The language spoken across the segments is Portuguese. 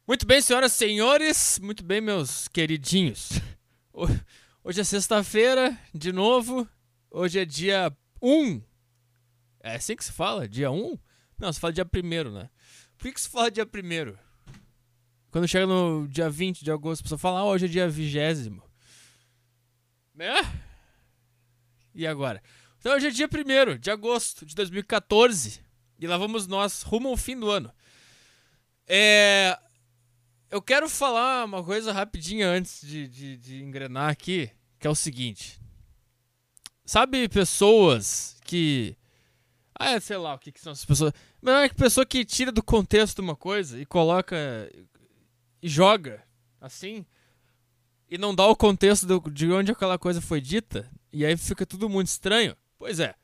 Muito bem, senhoras e senhores, muito bem, meus queridinhos. Ho- Hoje é sexta-feira, de novo. Hoje é dia 1. É assim que se fala? Dia 1? Não, se fala dia primeiro, né? Por que se fala dia primeiro? Quando chega no dia 20 de agosto, a pessoa fala, hoje é dia 20º. Né? E agora? Então hoje é dia primeiro de agosto de 2014. E lá vamos nós, rumo ao fim do ano. É... Eu quero falar uma coisa rapidinha antes de engrenar aqui, que é o seguinte. Sabe pessoas que... sei lá o que são essas pessoas. Mas é que pessoa que tira do contexto uma coisa e coloca e joga assim e não dá o contexto de onde aquela coisa foi dita e aí fica tudo muito estranho. Pois é.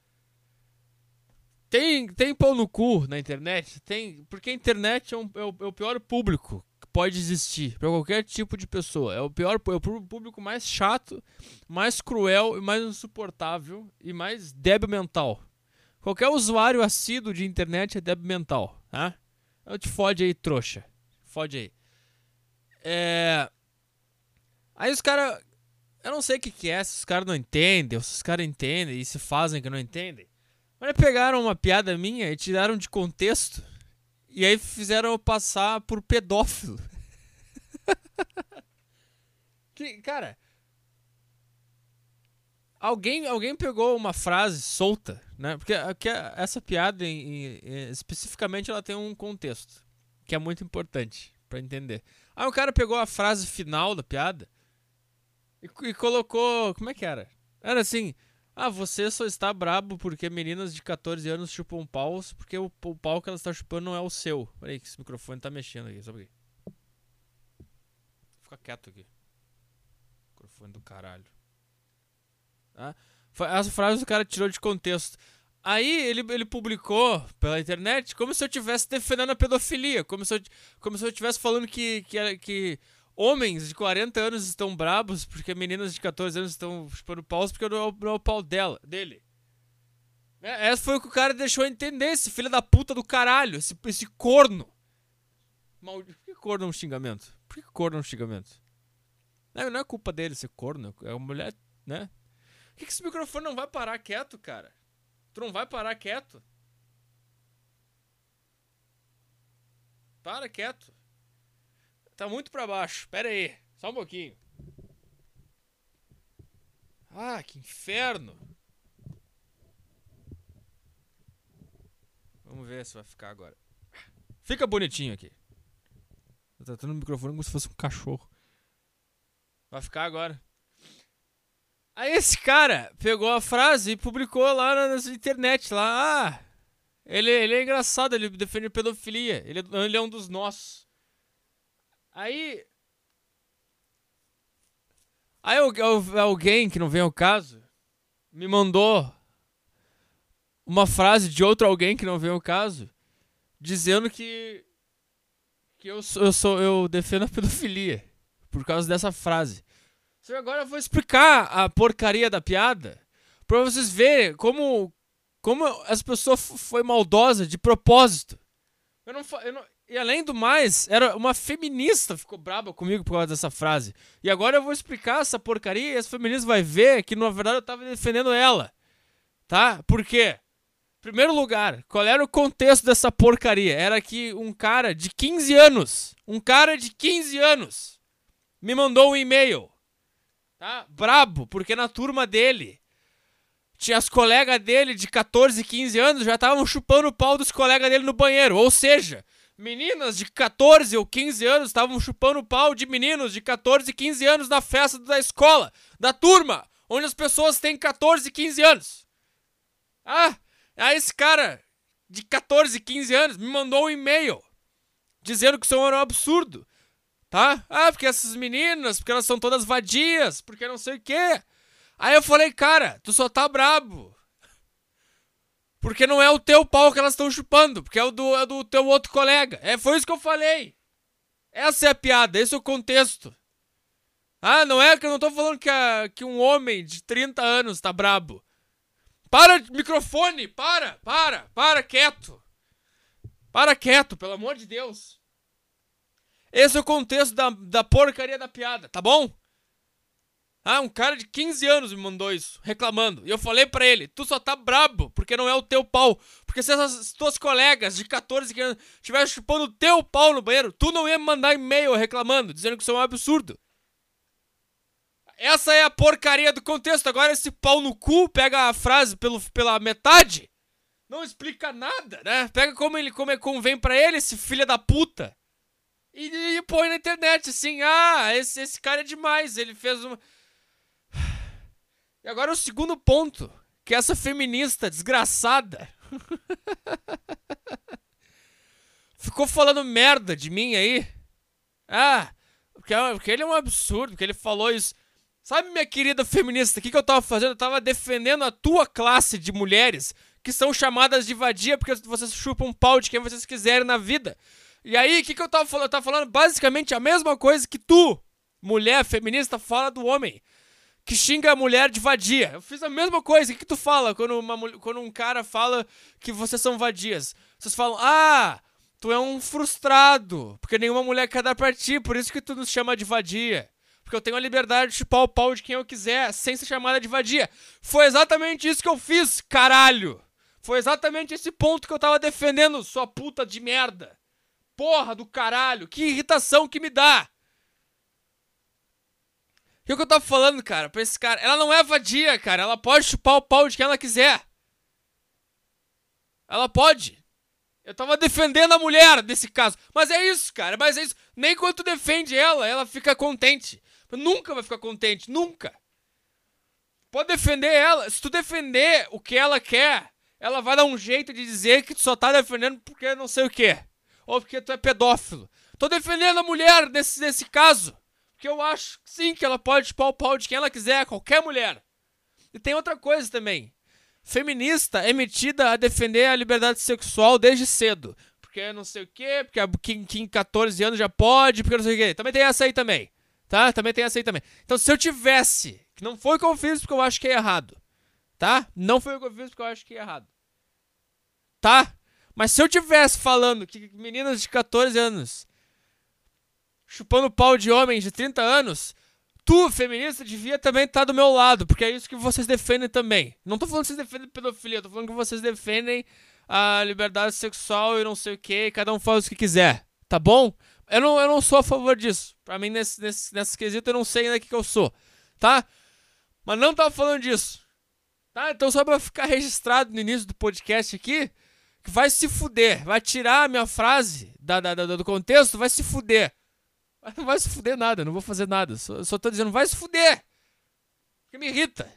Tem pau no cu na internet? Tem, porque a internet é o pior público que pode existir para qualquer tipo de pessoa. É o público mais chato, mais cruel e mais insuportável e mais débil mental. Qualquer usuário assíduo de internet é débil mental, tá? Então te fode aí, trouxa. Fode aí. É... Aí os caras... Eu não sei o que é, se os caras não entendem, ou se os caras entendem e se fazem que não entendem. Mas pegaram uma piada minha e tiraram de contexto. E aí fizeram eu passar por pedófilo. Cara, alguém pegou uma frase solta, né? Porque essa piada, especificamente, ela tem um contexto. Que é muito importante pra entender. Aí o cara pegou a frase final da piada e colocou... Como é que era? Era assim... você só está brabo porque meninas de 14 anos chupam paus porque o pau que elas estão chupando não é o seu. Peraí que esse microfone tá mexendo aqui, só aqui. Fica quieto aqui. Microfone do caralho. Tá? Essa frase o cara tirou de contexto. Aí ele publicou pela internet como se eu estivesse defendendo a pedofilia. Como se eu estivesse falando que homens de 40 anos estão brabos porque meninas de 14 anos estão chupando paus porque não é o pau dele. Essa foi o que o cara deixou entender, esse filho da puta do caralho, esse corno. Por que corno é um xingamento? Por que corno é um xingamento? Não é culpa dele ser corno, é uma mulher, né? Por que esse microfone não vai parar quieto, cara? Tu não vai parar quieto? Para quieto. Tá muito pra baixo, pera aí, só um pouquinho. Que inferno. Vamos ver se vai ficar agora. Fica bonitinho aqui. Tô tratando o microfone como se fosse um cachorro. Vai ficar agora. Aí esse cara pegou a frase e publicou lá na internet. Lá, ele é engraçado, ele defende pedofilia. Ele é um dos nossos. Aí. Aí alguém que não vem ao caso me mandou uma frase de outro alguém que não vem ao caso dizendo que eu defendo a pedofilia por causa dessa frase. Agora eu vou explicar a porcaria da piada pra vocês verem como as pessoas foi maldosa de propósito. E além do mais, era uma feminista ficou braba comigo por causa dessa frase. E agora eu vou explicar essa porcaria e essa feminista vai ver que na verdade eu tava defendendo ela. Tá? Por quê? Em primeiro lugar, qual era o contexto dessa porcaria? Era que um cara de 15 anos, me mandou um e-mail. Tá? Brabo, porque na turma dele tinha as colegas dele de 14, 15 anos já estavam chupando o pau dos colegas dele no banheiro. Ou seja, meninas de 14 ou 15 anos estavam chupando o pau de meninos de 14, 15 anos na festa da escola, da turma, onde as pessoas têm 14, 15 anos. Aí esse cara de 14, 15 anos me mandou um e-mail dizendo que isso era um absurdo. Tá? Porque essas meninas, porque elas são todas vadias, porque não sei o quê. Aí eu falei, cara, tu só tá brabo. Porque não é o teu pau que elas estão chupando, porque é o do teu outro colega. Foi isso que eu falei. Essa é a piada, esse é o contexto. Não é que eu não tô falando que um homem de 30 anos tá brabo. Para, microfone, para quieto. Para quieto, pelo amor de Deus. Esse é o contexto da porcaria da piada, tá bom? Ah, um cara de 15 anos me mandou isso, reclamando. E eu falei pra ele, tu só tá brabo porque não é o teu pau. Porque se essas tuas colegas de 14 anos estivessem chupando o teu pau no banheiro, tu não ia me mandar e-mail reclamando, dizendo que isso é um absurdo. Essa é a porcaria do contexto. Agora esse pau no cu pega a frase pela metade, não explica nada, né? Pega como convém pra ele, esse filho da puta. E põe na internet assim, esse cara é demais, ele fez uma... E agora o segundo ponto, que essa feminista desgraçada ficou falando merda de mim aí. Porque ele é um absurdo, porque ele falou isso. Sabe, minha querida feminista, o que eu tava fazendo? Eu tava defendendo a tua classe de mulheres que são chamadas de vadia porque vocês chupam um pau de quem vocês quiserem na vida. E aí, o que eu tava falando? Eu tava falando basicamente a mesma coisa que tu, mulher feminista, fala do homem que xinga a mulher de vadia. Eu fiz a mesma coisa. O que tu fala quando um cara fala que vocês são vadias? Vocês falam, tu é um frustrado, porque nenhuma mulher quer dar pra ti, por isso que tu nos chama de vadia. Porque eu tenho a liberdade de chupar o pau de quem eu quiser, sem ser chamada de vadia. Foi exatamente isso que eu fiz, caralho. Foi exatamente esse ponto que eu tava defendendo, sua puta de merda. Porra do caralho, que irritação que me dá. O que eu tava falando, cara, pra esse cara? Ela não é vadia, cara. Ela pode chupar o pau de quem ela quiser. Ela pode. Eu tava defendendo a mulher nesse caso. Mas é isso, cara. Mas é isso. Nem quando tu defende ela fica contente. Nunca vai ficar contente. Nunca. Pode defender ela. Se tu defender o que ela quer, ela vai dar um jeito de dizer que tu só tá defendendo porque não sei o quê. Ou porque tu é pedófilo. Tô defendendo a mulher nesse caso. Porque eu acho, sim, que ela pode chupar o pau de quem ela quiser, qualquer mulher. E tem outra coisa também. Feminista é metida a defender a liberdade sexual desde cedo. Porque não sei o quê, porque quem 14 anos já pode, porque não sei o quê. Também tem essa aí também, tá? Também tem essa aí também. Então se eu tivesse, que não foi o que eu fiz porque eu acho que é errado, tá? Não foi o que eu fiz porque eu acho que é errado, tá? Mas se eu tivesse falando que meninas de 14 anos chupando pau de homens de 30 anos, tu, feminista, devia também estar do meu lado, porque é isso que vocês defendem também. Não tô falando que vocês defendem pedofilia, tô falando que vocês defendem a liberdade sexual e não sei o que, cada um faz o que quiser, tá bom? Eu não sou a favor disso. Pra mim, nesse quesito, eu não sei ainda o que eu sou, tá? Mas não tava falando disso, tá? Então só pra ficar registrado no início do podcast aqui, que vai se fuder, vai tirar a minha frase do contexto, vai se fuder. Não vai se fuder nada, não vou fazer nada. Só tô dizendo, vai se fuder. Porque me irrita.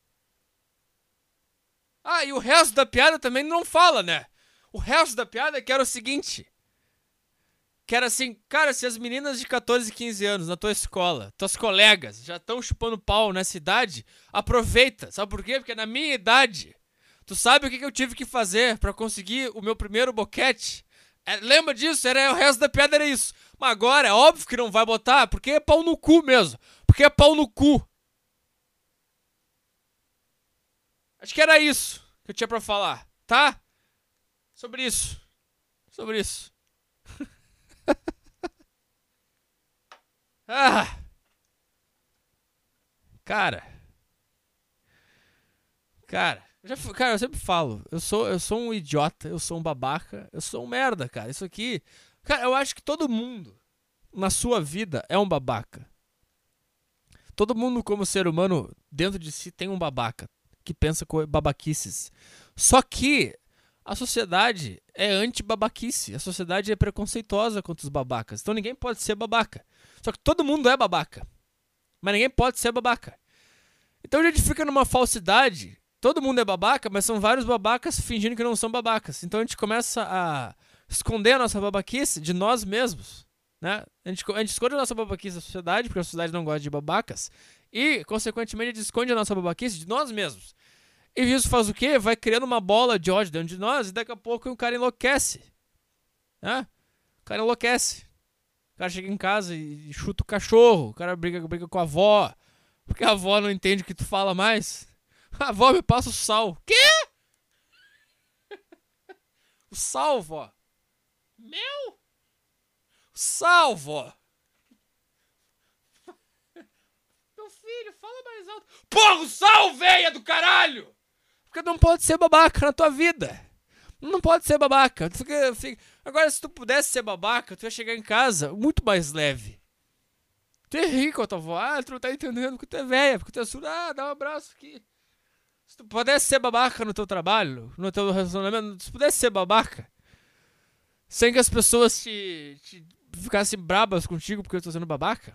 E o resto da piada também não fala, né? O resto da piada que era o seguinte. Que era assim, cara, se as meninas de 14 e 15 anos na tua escola, tuas colegas, já estão chupando pau nessa idade, aproveita. Sabe por quê? Porque na minha idade, tu sabe o que eu tive que fazer pra conseguir o meu primeiro boquete? Lembra disso? O resto da piada era isso. Mas agora é óbvio que não vai botar, porque é pau no cu mesmo. Porque é pau no cu. Acho que era isso que eu tinha pra falar, tá? Sobre isso. Cara, eu sempre falo, eu sou um idiota, eu sou um babaca, eu sou um merda, cara. Isso aqui, cara, eu acho que todo mundo na sua vida é um babaca. Todo mundo como ser humano dentro de si tem um babaca que pensa com babaquices. Só que a sociedade é anti-babaquice, a sociedade é preconceituosa contra os babacas. Então ninguém pode ser babaca. Só que todo mundo é babaca, mas ninguém pode ser babaca. Então a gente fica numa falsidade. Todo mundo é babaca, mas são vários babacas fingindo que não são babacas. Então a gente começa a esconder a nossa babaquice de nós mesmos, né? A gente esconde a nossa babaquice da sociedade, porque a sociedade não gosta de babacas. E, consequentemente, a gente esconde a nossa babaquice de nós mesmos. E isso faz o quê? Vai criando uma bola de ódio dentro de nós e daqui a pouco o cara enlouquece, né? O cara enlouquece. O cara chega em casa e chuta o cachorro. O cara briga com a avó. Porque a avó não entende o que tu fala mais. A avó me passa o sal. Quê? O sal, vó? Mel? Sal, vó! Meu filho, fala mais alto. Porra, sal, véia do caralho! Porque não pode ser babaca na tua vida. Não pode ser babaca. Agora, se tu pudesse ser babaca, tu ia chegar em casa muito mais leve. Tu ia rir com a tua avó. Ah, tu não tá entendendo porque tu é velha, porque tu é surda. Ah, dá um abraço aqui. Se tu pudesse ser babaca no teu trabalho, no teu relacionamento, se tu pudesse ser babaca, sem que as pessoas te ficassem brabas contigo porque eu tô sendo babaca,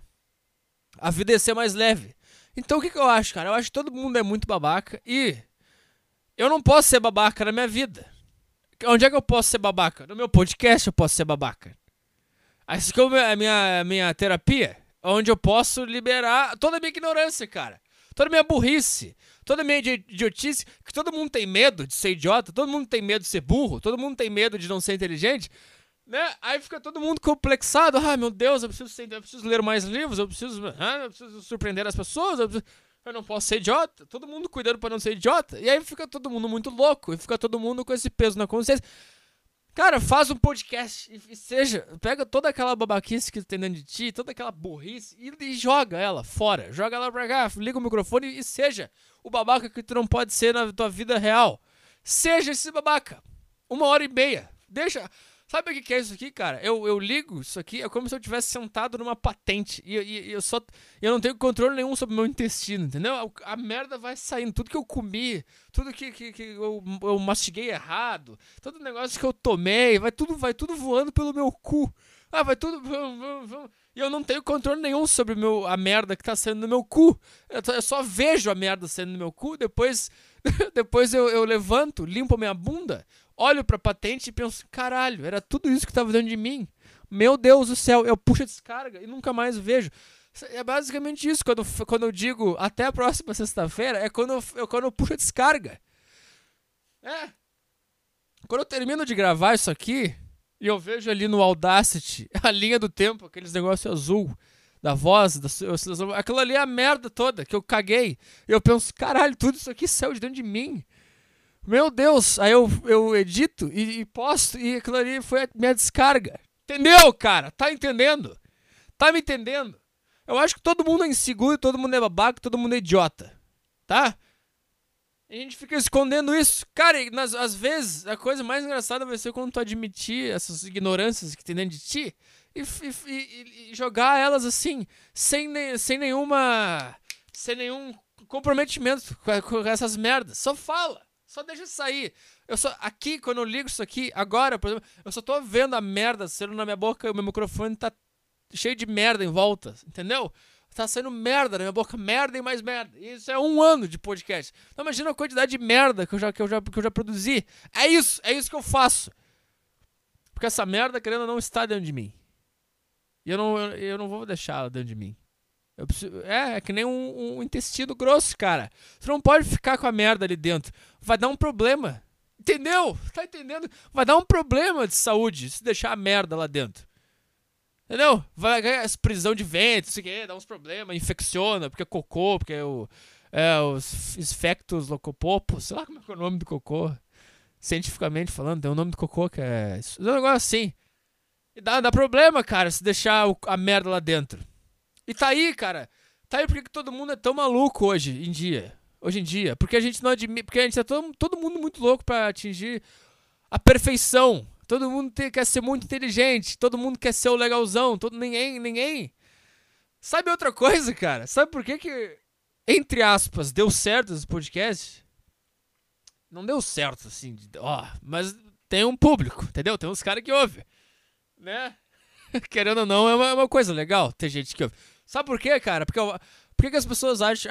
a vida ia ser mais leve. Então o que eu acho, cara? Eu acho que todo mundo é muito babaca e eu não posso ser babaca na minha vida. Onde é que eu posso ser babaca? No meu podcast eu posso ser babaca. Essa que é a minha terapia, onde eu posso liberar toda a minha ignorância, cara. Toda a minha burrice, toda a minha idiotice, que todo mundo tem medo de ser idiota, todo mundo tem medo de ser burro, todo mundo tem medo de não ser inteligente, né? Aí fica todo mundo complexado. Ah, meu Deus, eu preciso ler mais livros, eu preciso surpreender as pessoas, eu não posso ser idiota. Todo mundo cuidando pra não ser idiota. E aí fica todo mundo muito louco, e fica todo mundo com esse peso na consciência. Cara, faz um podcast e pega toda aquela babaquice que tem dentro de ti, toda aquela burrice e joga ela fora. Joga ela pra cá, liga o microfone e seja o babaca que tu não pode ser na tua vida real. Seja esse babaca. 1h30. Deixa... Sabe o que é isso aqui, cara? Eu ligo isso aqui, é como se eu tivesse sentado numa patente e eu não tenho controle nenhum sobre o meu intestino, entendeu? A merda vai saindo, tudo que eu comi, tudo que eu mastiguei errado, todo negócio que eu tomei, vai tudo voando pelo meu cu. Ah, vai tudo... E eu não tenho controle nenhum sobre a merda que tá saindo no meu cu. Eu só vejo a merda saindo no meu cu, depois eu levanto, limpo a minha bunda, olho pra patente e penso, caralho, era tudo isso que tava dentro de mim. Meu Deus do céu, eu puxo a descarga e nunca mais vejo. É basicamente isso, quando eu digo até a próxima sexta-feira, é quando eu puxo a descarga. É. Quando eu termino de gravar isso aqui, e eu vejo ali no Audacity a linha do tempo, aqueles negócios azul da voz, aquilo ali é a merda toda que eu caguei. E eu penso, caralho, tudo isso aqui saiu de dentro de mim. Meu Deus, aí eu edito e posto e aquilo ali foi a minha descarga. Entendeu, cara? Tá entendendo? Tá me entendendo? Eu acho que todo mundo é inseguro, todo mundo é babaca, todo mundo é idiota. Tá? E a gente fica escondendo isso. Cara, às vezes a coisa mais engraçada vai ser quando tu admitir essas ignorâncias que tem dentro de ti e jogar elas assim, sem nenhum comprometimento com essas merdas. Só fala. Só deixa sair. Aqui, quando eu ligo isso aqui, agora, por exemplo, eu só tô vendo a merda saindo na minha boca e o meu microfone tá cheio de merda em volta, entendeu? Tá saindo merda na minha boca, merda e mais merda. E isso é 1 ano de podcast. Então imagina a quantidade de merda que eu já produzi. É isso que eu faço. Porque essa merda, querendo ou não, está dentro de mim. E eu não vou deixar ela dentro de mim. É que nem um intestino grosso, cara. Você não pode ficar com a merda ali dentro. Vai dar um problema. Entendeu? Tá entendendo? Vai dar um problema de saúde se deixar a merda lá dentro. Entendeu? Vai ganhar prisão de ventre, isso aqui, dá uns problemas, infecciona, porque é cocô, porque os esfectos locopopos, sei lá como é que é o nome do cocô. Cientificamente falando, tem um nome do cocô que é um negócio assim. E dá problema, cara, se deixar a merda lá dentro. E tá aí, cara. Tá aí porque todo mundo é tão maluco hoje em dia. Porque a gente não admite. Porque a gente é todo mundo muito louco pra atingir a perfeição. Todo mundo quer ser muito inteligente. Todo mundo quer ser o legalzão. Ninguém. Sabe outra coisa, cara? Sabe por que, entre aspas, deu certo esse podcast? Não deu certo, assim. Mas tem um público, entendeu? Tem uns caras que ouvem. Né? Querendo ou não, é uma coisa legal. Tem gente que ouve. Sabe por quê, cara? Por que as pessoas acham...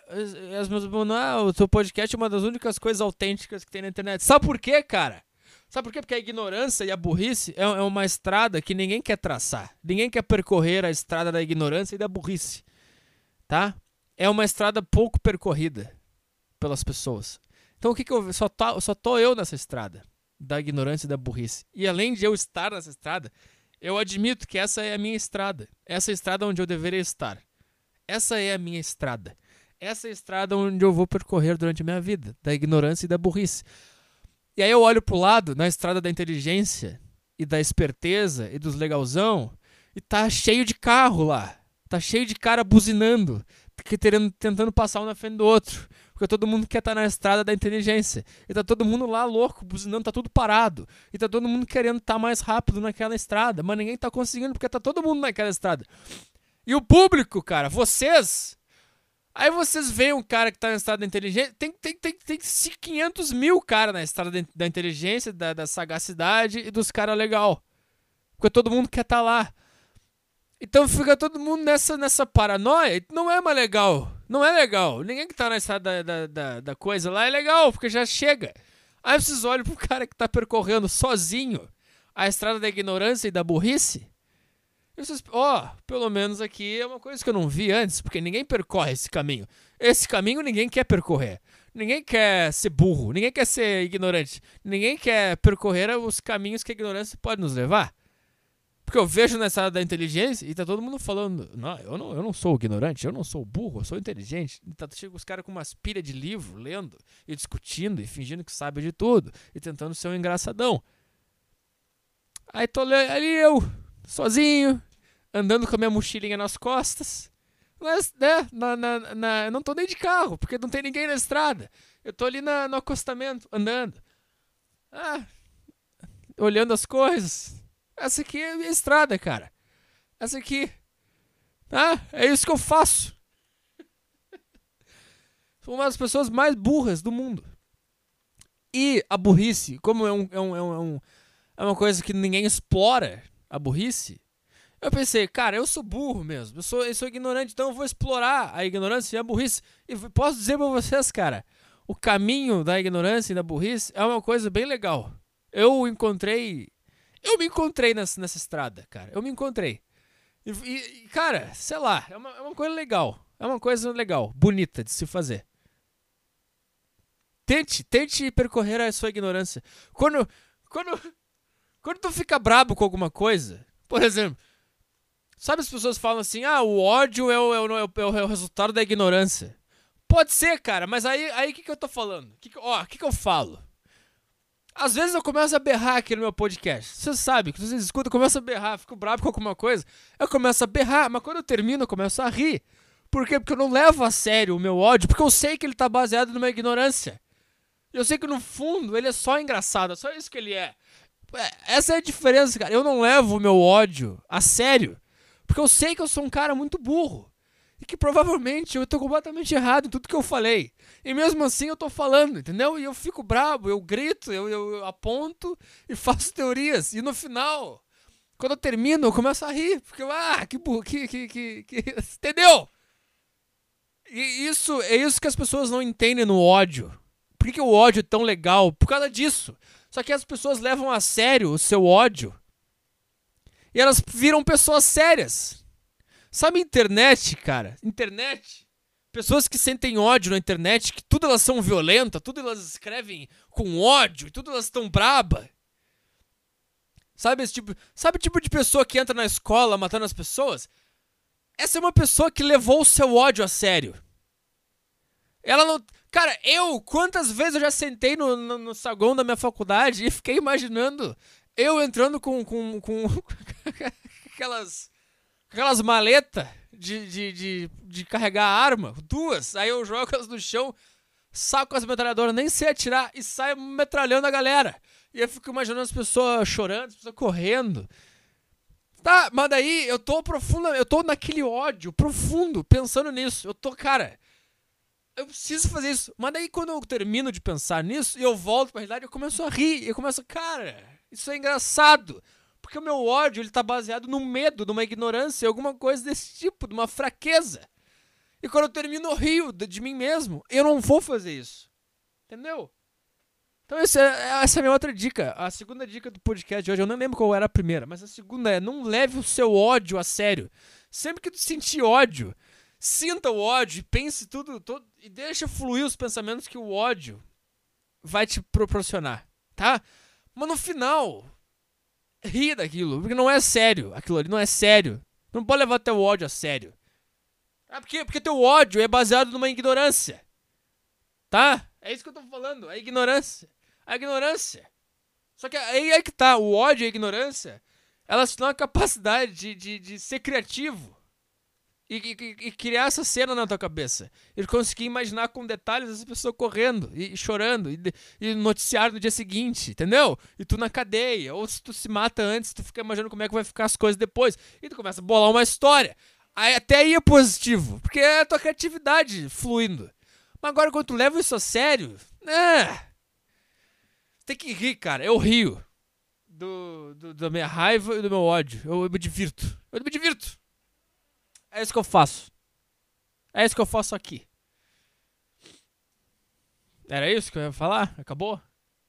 o seu podcast é uma das únicas coisas autênticas que tem na internet. Sabe por quê, cara? Sabe por quê? Porque a ignorância e a burrice é uma estrada que ninguém quer traçar. Ninguém quer percorrer a estrada da ignorância e da burrice. Tá? É uma estrada pouco percorrida pelas pessoas. Então o que eu... Só tô eu nessa estrada da ignorância e da burrice. E além de eu estar nessa estrada... Eu admito que essa é a minha estrada. Essa é a estrada onde eu deveria estar. Essa é a minha estrada. Essa é a estrada onde eu vou percorrer durante a minha vida. Da ignorância e da burrice. E aí eu olho pro lado, na estrada da inteligência e da esperteza e dos legalzão, E tá cheio de carro lá. Tá cheio de cara buzinando, tentando passar um na frente do outro. Porque todo mundo quer estar na estrada da inteligência. E tá todo mundo lá louco, buzinando, tá tudo parado. E tá todo mundo querendo estar mais rápido naquela estrada. Mas ninguém tá conseguindo porque tá todo mundo naquela estrada. E o público, cara, vocês... Aí vocês veem um cara que tá na estrada da inteligência... Tem 500 mil caras na estrada da inteligência, da sagacidade e dos caras legal. Porque todo mundo quer estar lá. Então fica todo mundo nessa paranoia. Não é mais legal. Não é legal. Ninguém que tá na estrada da coisa lá é legal, porque já chega. Aí vocês olham pro cara que tá percorrendo sozinho a estrada da ignorância e da burrice. E vocês, pelo menos aqui é uma coisa que eu não vi antes, porque ninguém percorre esse caminho. Esse caminho ninguém quer percorrer. Ninguém quer ser burro. Ninguém quer ser ignorante. Ninguém quer percorrer os caminhos que a ignorância pode nos levar. Porque eu vejo nessa área da inteligência e tá todo mundo falando, não, eu não sou ignorante, eu não sou burro, eu sou inteligente. E tá chega os caras com umas pilhas de livro, lendo e discutindo e fingindo que sabe de tudo e tentando ser um engraçadão. Aí tô ali eu, sozinho, andando com a minha mochilinha nas costas. Mas, né, eu não tô nem de carro, porque não tem ninguém na estrada. Eu tô ali no acostamento, andando. Olhando as coisas. Essa aqui é a minha estrada, cara. Essa aqui. É isso que eu faço. Sou uma das pessoas mais burras do mundo. E a burrice, como é uma coisa que ninguém explora, a burrice, eu pensei, cara, eu sou burro mesmo. Eu sou ignorante, então eu vou explorar a ignorância e a burrice. E posso dizer pra vocês, cara, o caminho da ignorância e da burrice é uma coisa bem legal. Eu me encontrei nessa estrada, cara. Eu me encontrei. E cara, sei lá, é uma coisa legal. É uma coisa legal, bonita de se fazer. Tente percorrer a sua ignorância. Quando tu fica brabo com alguma coisa, por exemplo, sabe as pessoas falam assim, o ódio é o resultado da ignorância. Pode ser, cara, mas aí o que eu tô falando? O que eu falo? Às vezes eu começo a berrar aqui no meu podcast. Você sabe, que vocês escutam, eu começo a berrar, fico bravo com alguma coisa. Eu começo a berrar, mas quando eu termino eu começo a rir. Por quê? Porque eu não levo a sério o meu ódio, porque eu sei que ele tá baseado numa ignorância. Eu sei que no fundo ele é só engraçado, é só isso que ele é. Essa é a diferença, cara. Eu não levo o meu ódio a sério, porque eu sei que eu sou um cara muito burro. E que provavelmente eu tô completamente errado em tudo que eu falei. E mesmo assim eu tô falando, entendeu? E eu fico brabo, eu grito, eu aponto e faço teorias. E no final, quando eu termino, eu começo a rir. Porque, que burro, entendeu? E é isso que as pessoas não entendem no ódio. Por que o ódio é tão legal? Por causa disso. Só que as pessoas levam a sério o seu ódio. E elas viram pessoas sérias. Sabe internet, cara? Internet. Pessoas que sentem ódio na internet, que tudo elas são violentas, tudo elas escrevem com ódio, tudo elas estão braba. Sabe o tipo de pessoa que entra na escola matando as pessoas? Essa é uma pessoa que levou o seu ódio a sério. Ela não... Cara, quantas vezes eu já sentei no saguão da minha faculdade e fiquei imaginando eu entrando com aquelas maletas de carregar arma, duas, aí eu jogo elas no chão, saco as metralhadoras, nem sei atirar e saio metralhando a galera. E eu fico imaginando as pessoas chorando, as pessoas correndo. Tá, mas daí eu tô naquele ódio profundo, pensando nisso. Cara, eu preciso fazer isso. Mas daí quando eu termino de pensar nisso e eu volto pra realidade, eu começo a rir. Eu começo, cara, isso é engraçado. Porque o meu ódio, ele tá baseado no medo, numa ignorância, alguma coisa desse tipo, de uma fraqueza. E quando eu termino, eu rio de mim mesmo. Eu não vou fazer isso. Entendeu? Então essa é a minha outra dica. A segunda dica do podcast de hoje, eu não lembro qual era a primeira, mas a segunda é, não leve o seu ódio a sério. Sempre que tu sentir ódio, sinta o ódio e pense tudo e deixa fluir os pensamentos que o ódio vai te proporcionar, tá? Mas no final, ri daquilo, porque não é sério. Aquilo ali não é sério. Tu não pode levar teu ódio a sério. Porque teu ódio é baseado numa ignorância. Tá? É isso que eu tô falando, a ignorância. A ignorância. Só que aí é que tá, o ódio e a ignorância, Elas te dão a capacidade de ser criativo e criar essa cena na tua cabeça. E conseguir imaginar com detalhes essa pessoa correndo e chorando e noticiar no dia seguinte, entendeu? E tu na cadeia. Ou se tu se mata antes, tu fica imaginando como é que vai ficar as coisas depois. E tu começa a bolar uma história. Até aí é positivo, porque é a tua criatividade fluindo. Mas agora quando tu leva isso a sério, tem que rir, cara. Eu rio da minha raiva e do meu ódio. Eu me divirto. É isso que eu faço. É isso que eu faço aqui. Era isso que eu ia falar? Acabou?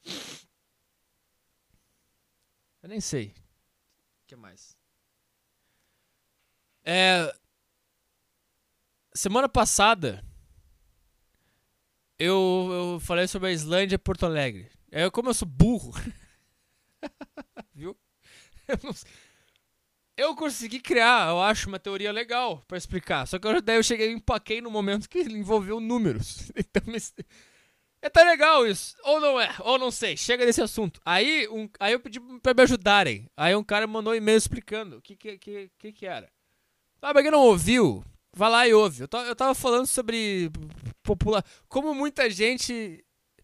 Eu nem sei. O que mais? Semana passada eu falei sobre a Islândia e Porto Alegre. Como eu sou burro, viu? Eu consegui criar, eu acho, uma teoria legal pra explicar. Só que daí eu empaquei no momento que ele envolveu números. Então, tá legal isso. Ou não é, ou não sei. Chega desse assunto. Aí eu pedi pra me ajudarem. Aí um cara mandou um e-mail explicando o que era. Ah, pra quem não ouviu, vai lá e ouve. Eu tava falando sobre como muita gente...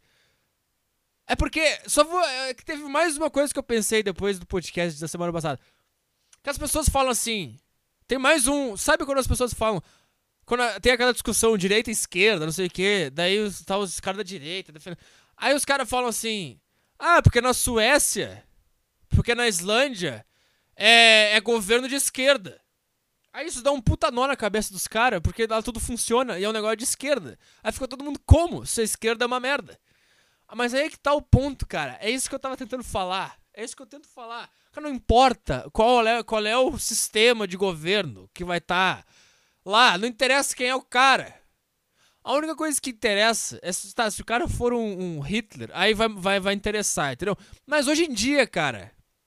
É porque... que teve mais uma coisa que eu pensei depois do podcast da semana passada. Que as pessoas falam assim... Tem mais um... Sabe quando as pessoas falam... Quando tem aquela discussão direita e esquerda, não sei o quê. Daí tá os caras da direita defendendo. Aí os caras falam assim... Ah, porque na Suécia... Porque na Islândia... É governo de esquerda. Aí isso dá um puta nó na cabeça dos caras, porque lá tudo funciona e é um negócio de esquerda. Aí fica todo mundo como? Se a esquerda é uma merda. Mas aí é que tá o ponto, cara. É isso que eu tava tentando falar. É isso que eu tento falar. Não importa qual é o sistema de governo que vai estar lá. Não interessa quem é o cara. A única coisa que interessa é se o cara for um Hitler, aí vai interessar, entendeu? Mas hoje em dia, cara...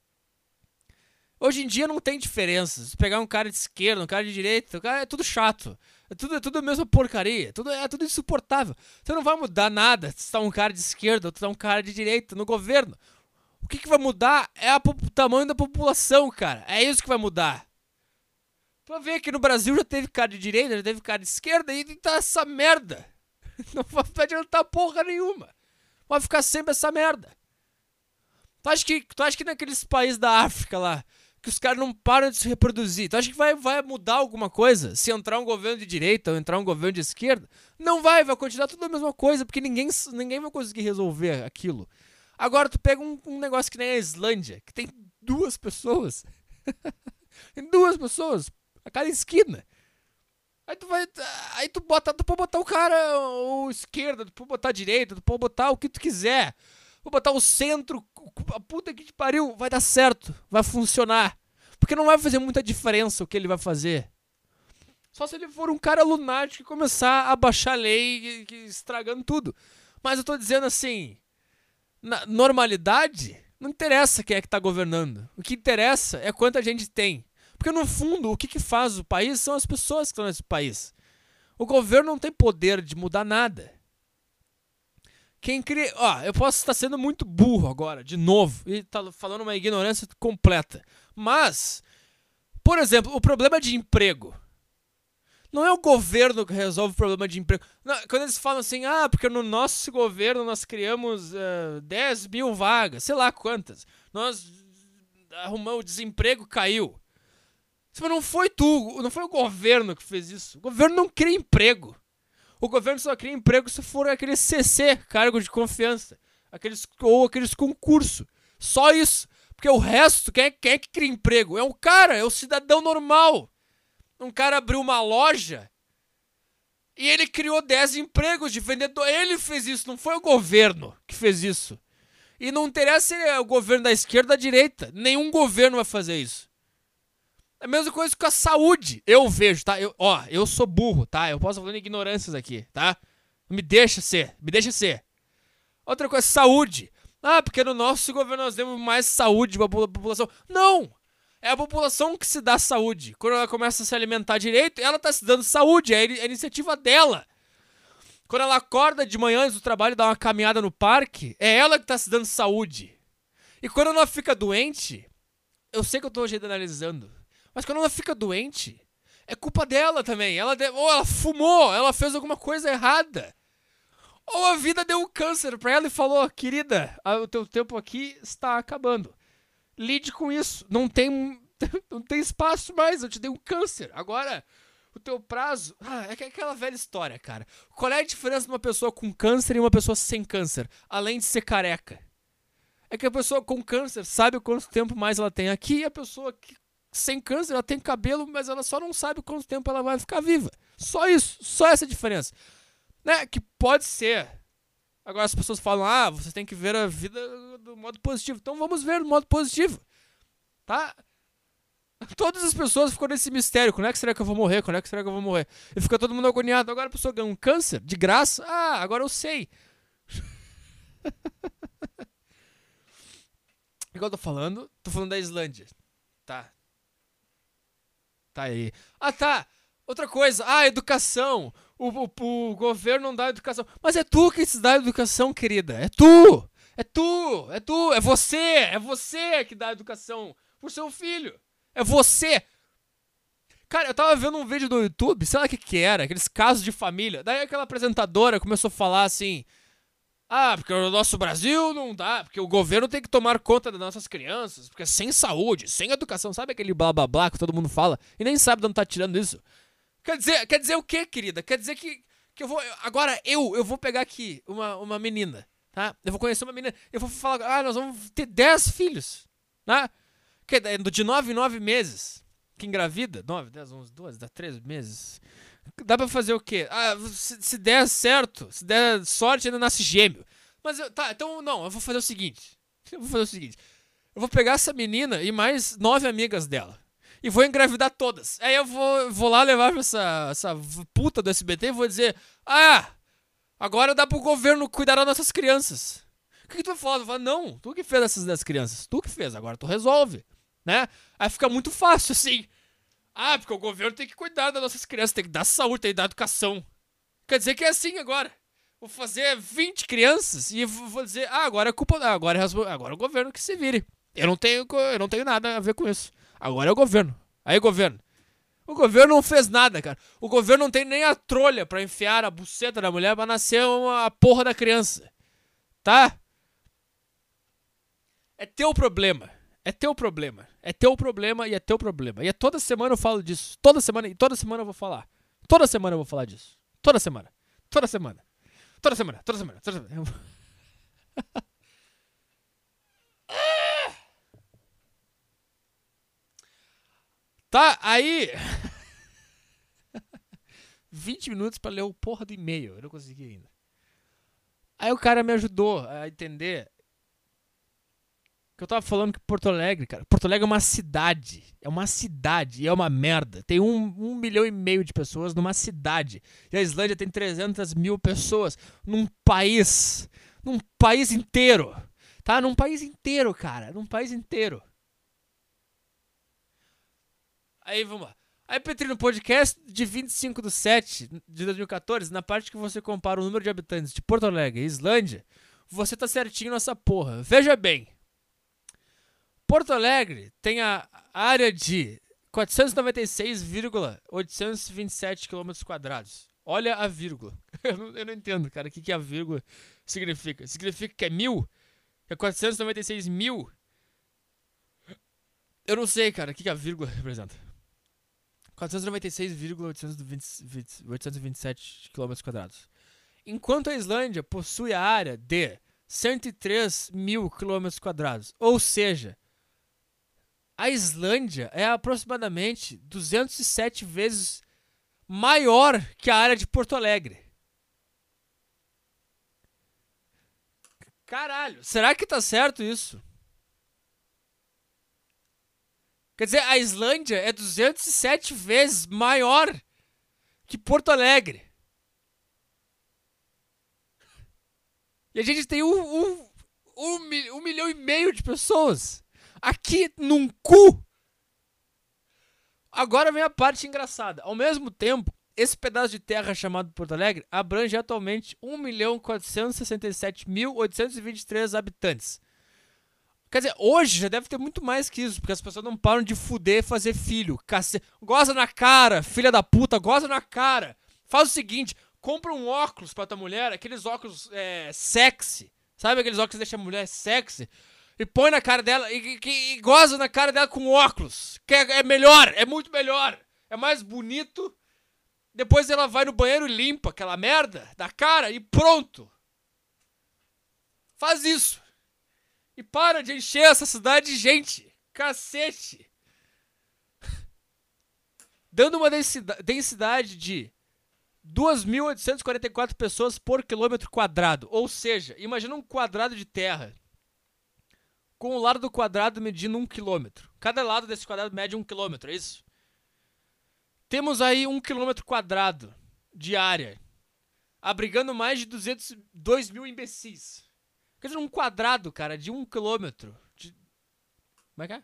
Hoje em dia não tem diferença. Se pegar um cara de esquerda, um cara de direita, o cara é tudo chato. É tudo a mesma porcaria. É tudo insuportável. Você não vai mudar nada se tá um cara de esquerda ou se tá um cara de direita no governo. O que vai mudar é o tamanho da população, cara. É isso que vai mudar. Tu vai ver que no Brasil já teve cara de direita, já teve cara de esquerda e tá essa merda. Não vai adiantar porra nenhuma. Vai ficar sempre essa merda. Tu acha que naqueles países da África lá, que os caras não param de se reproduzir, tu acha que vai mudar alguma coisa se entrar um governo de direita ou entrar um governo de esquerda? Não vai continuar tudo a mesma coisa, porque ninguém vai conseguir resolver aquilo. Agora tu pega um negócio que nem a Islândia, que tem 2 pessoas. Tem 2 pessoas a cada esquina. Aí tu pode botar o cara ou esquerda, tu pode botar a direita, tu pode botar o que tu quiser. Vou botar o centro, a puta que te pariu, vai dar certo, vai funcionar. Porque não vai fazer muita diferença o que ele vai fazer. Só se ele for um cara lunático e começar a baixar a lei, estragando tudo. Mas eu tô dizendo assim, na normalidade, não interessa quem é que tá governando. O que interessa é quanta gente tem. Porque no fundo, o que faz o país são as pessoas que estão nesse país. O governo não tem poder de mudar nada. Quem cria... eu posso estar sendo muito burro agora, de novo, e tá falando uma ignorância completa. Mas, por exemplo, o problema de emprego. Não é o governo que resolve o problema de emprego. Não, quando eles falam assim, porque no nosso governo nós criamos 10 mil vagas, sei lá quantas. Nós arrumamos, o desemprego caiu. Mas não foi o governo que fez isso. O governo não cria emprego. O governo só cria emprego se for aquele CC, cargo de confiança. Ou aqueles concursos. Só isso. Porque o resto, quem é que cria emprego? É um cara, é o cidadão normal. Um cara abriu uma loja e ele criou 10 empregos de vendedor. Ele fez isso, não foi o governo que fez isso. E não interessa se é o governo da esquerda ou da direita. Nenhum governo vai fazer isso. É a mesma coisa com a saúde. Eu vejo, tá? Eu sou burro, tá? Eu posso falar de ignorâncias aqui, tá? Me deixa ser. Outra coisa, saúde. Porque no nosso governo nós demos mais saúde pra população. Não! É a população que se dá saúde. Quando ela começa a se alimentar direito, ela tá se dando saúde. É a iniciativa dela. Quando ela acorda de manhã antes do trabalho e dá uma caminhada no parque, é ela que tá se dando saúde. E quando ela fica doente... eu sei que eu tô generalizando, mas quando ela fica doente, é culpa dela também. Ou ela fumou, ela fez alguma coisa errada. Ou a vida deu um câncer pra ela e falou, querida, o teu tempo aqui está acabando. Lide com isso. Não tem espaço mais, eu te dei um câncer. Agora, o teu prazo... é aquela velha história, cara. Qual é a diferença de uma pessoa com câncer e uma pessoa sem câncer? Além de ser careca. É que a pessoa com câncer sabe quanto tempo mais ela tem aqui, e a pessoa sem câncer, ela tem cabelo, mas ela só não sabe quanto tempo ela vai ficar viva. Só isso, só essa diferença. Né? Que pode ser. Agora as pessoas falam, você tem que ver a vida do modo positivo. Então vamos ver do modo positivo. Tá? Todas as pessoas ficam nesse mistério. Quando é que será que eu vou morrer? Quando é que será que eu vou morrer? E fica todo mundo agoniado. Agora a pessoa ganha um câncer de graça. Agora eu sei. Igual eu tô falando da Islândia. Tá. Tá aí. Tá. Outra coisa. Educação. O governo não dá educação. Mas é tu que se dá educação, querida. É tu. É tu. É tu. É você. É você que dá educação pro seu filho. É você. Cara, eu tava vendo um vídeo no YouTube. Sei lá o que era. Aqueles casos de família. Daí aquela apresentadora começou a falar assim... porque o nosso Brasil não dá, porque o governo tem que tomar conta das nossas crianças, porque sem saúde, sem educação, sabe aquele blá blá blá que todo mundo fala e nem sabe de onde tá tirando isso? Quer dizer o quê, querida? Quer dizer que eu vou... Agora eu vou pegar aqui uma menina, tá? Eu vou conhecer uma menina, eu vou falar, nós vamos ter 10 filhos, tá? De 9 em 9 meses, que engravida, 9, 10, 11, 12, dá 13 meses... Dá pra fazer o quê? Se der certo, se der sorte, ainda nasce gêmeo. Mas, então não, eu vou fazer o seguinte. Eu vou pegar essa menina e mais 9 amigas dela. E vou engravidar todas. Aí eu vou lá levar pra essa puta do SBT e vou dizer... agora dá pro governo cuidar das nossas crianças. O que tu vai falar? Tu vai falar, não, tu que fez essas 10 crianças. Tu que fez, agora tu resolve. Né? Aí fica muito fácil, assim... porque o governo tem que cuidar das nossas crianças, tem que dar saúde, tem que dar educação. Quer dizer que é assim agora. Vou fazer 20 crianças e vou dizer, agora é culpa... Agora é o governo que se vire. Eu não tenho nada a ver com isso. Agora é o governo. Aí, governo. O governo não fez nada, cara. O governo não tem nem a trolha pra enfiar a buceta da mulher pra nascer a porra da criança. Tá? É teu problema. É teu problema. É teu problema e é teu problema. E toda semana eu falo disso. Toda semana eu vou falar. Toda semana eu vou falar disso. Toda semana. Toda semana. Toda semana. Toda semana. Toda semana. Tá, aí... 20 minutos pra ler o porra do e-mail. Eu não consegui ainda. Aí o cara me ajudou a entender... que eu tava falando que Porto Alegre, cara... Porto Alegre é uma cidade. É uma cidade e é uma merda. Tem 1,5 milhão de pessoas numa cidade. E a Islândia tem 300 mil pessoas. Num país inteiro. Tá? Num país inteiro, cara. Num país inteiro. Aí, vamos lá. Aí, Petri, no podcast de 25/7 de 2014, na parte que você compara o número de habitantes de Porto Alegre e Islândia, você tá certinho nessa porra. Veja bem. Porto Alegre tem a área de 496,827 km². Olha a vírgula. Eu não entendo, cara, o que a vírgula significa. Significa que é 1000? Que é 496 mil? Eu não sei, cara, o que a vírgula representa. 496,827 km². Enquanto a Islândia possui a área de 103 mil km². Ou seja, a Islândia é aproximadamente 207 vezes maior que a área de Porto Alegre. Caralho, será que tá certo isso? Quer dizer, a Islândia é 207 vezes maior que Porto Alegre. E a gente tem 1,5 milhão de pessoas. Aqui num cu. Agora vem a parte engraçada. Ao mesmo tempo, esse pedaço de terra chamado Porto Alegre abrange atualmente 1.467.823 habitantes. Quer dizer, hoje já deve ter muito mais que isso, porque as pessoas não param de fuder e fazer filho. Goza na cara, filha da puta, goza na cara. Faz o seguinte, compra um óculos pra tua mulher, aqueles óculos sexy. Sabe aqueles óculos que deixam a mulher sexy? E põe na cara dela e goza na cara dela com óculos. Que é melhor, é muito melhor. É mais bonito. Depois ela vai no banheiro e limpa aquela merda da cara e pronto. Faz isso. E para de encher essa cidade de gente. Cacete. Dando uma densidade de 2.844 pessoas por quilômetro quadrado. Ou seja, imagina um quadrado de terra com o lado do quadrado medindo 1 quilômetro. Cada lado desse quadrado mede 1 quilômetro, é isso? Temos aí 1 quilômetro quadrado de área, abrigando mais de 202 mil imbecis. Quer dizer, um quadrado, cara, de 1 quilômetro. Como é que é?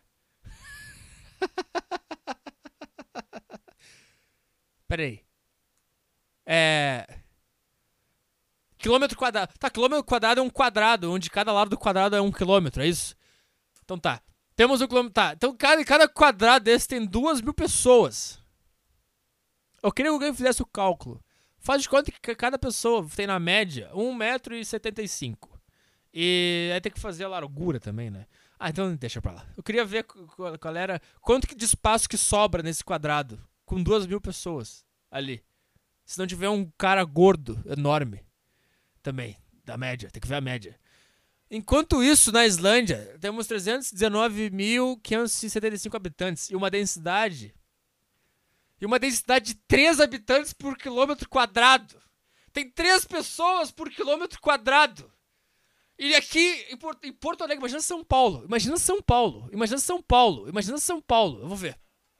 Pera aí. Quilômetro quadrado. Tá, quilômetro quadrado é um quadrado, onde cada lado do quadrado é 1 quilômetro, é isso? Então tá. Temos um quilômetro. Tá, então cada quadrado desse tem 2.000 pessoas. Eu queria que alguém fizesse o cálculo. Faz de conta que cada pessoa tem na média 1,75 m. E aí tem que fazer a largura também, né? Ah, então deixa pra lá. Eu queria ver qual era. Quanto de espaço que sobra nesse quadrado. Com 2.000 pessoas ali. Se não tiver um cara gordo, enorme. Também, da média. Tem que ver a média. Enquanto isso, na Islândia, temos 319.575 habitantes. E uma densidade de 3 habitantes por quilômetro quadrado. Tem 3 pessoas por quilômetro quadrado. E aqui em Porto Alegre, imagina São Paulo. Imagina São Paulo. Imagina São Paulo. Imagina São Paulo. Eu vou ver.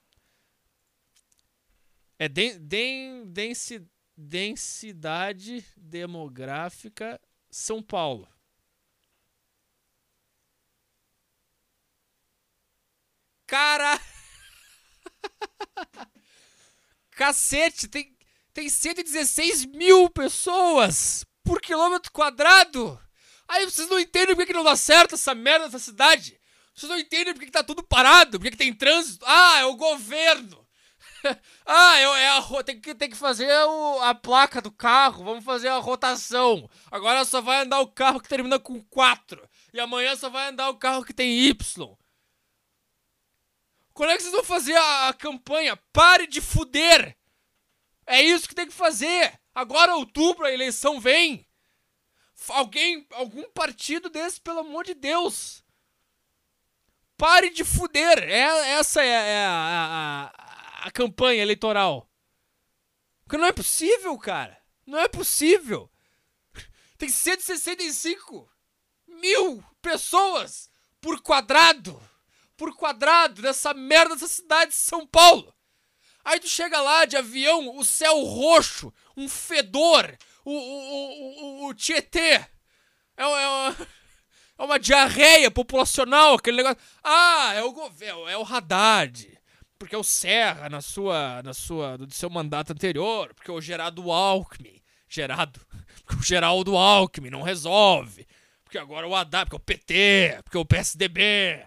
É densidade demográfica São Paulo. Cara! Cacete, tem 116 mil pessoas por quilômetro quadrado. Aí vocês não entendem por que não dá certo essa merda dessa cidade. Vocês não entendem por que tá tudo parado, por que tem trânsito. Ah, é o governo. Tem que fazer a placa do carro, vamos fazer a rotação. Agora só vai andar o carro que termina com 4. E amanhã só vai andar o carro que tem Y. Quando é que vocês vão fazer a campanha? Pare de fuder! É isso que tem que fazer! Agora, outubro, a eleição vem! Algum partido desse, pelo amor de Deus! Pare de fuder! Essa é a campanha eleitoral. Porque não é possível, cara! Não é possível! Tem 165 mil pessoas por quadrado! Dessa merda dessa cidade de São Paulo. Aí tu chega lá de avião, o céu roxo, um fedor, o Tietê. É uma diarreia populacional, aquele negócio. Ah, é o governo, é o Haddad. Porque é o Serra do seu mandato anterior, porque é o Geraldo Alckmin. Porque o Geraldo Alckmin não resolve. Porque agora o Haddad, porque é o PT, porque é o PSDB.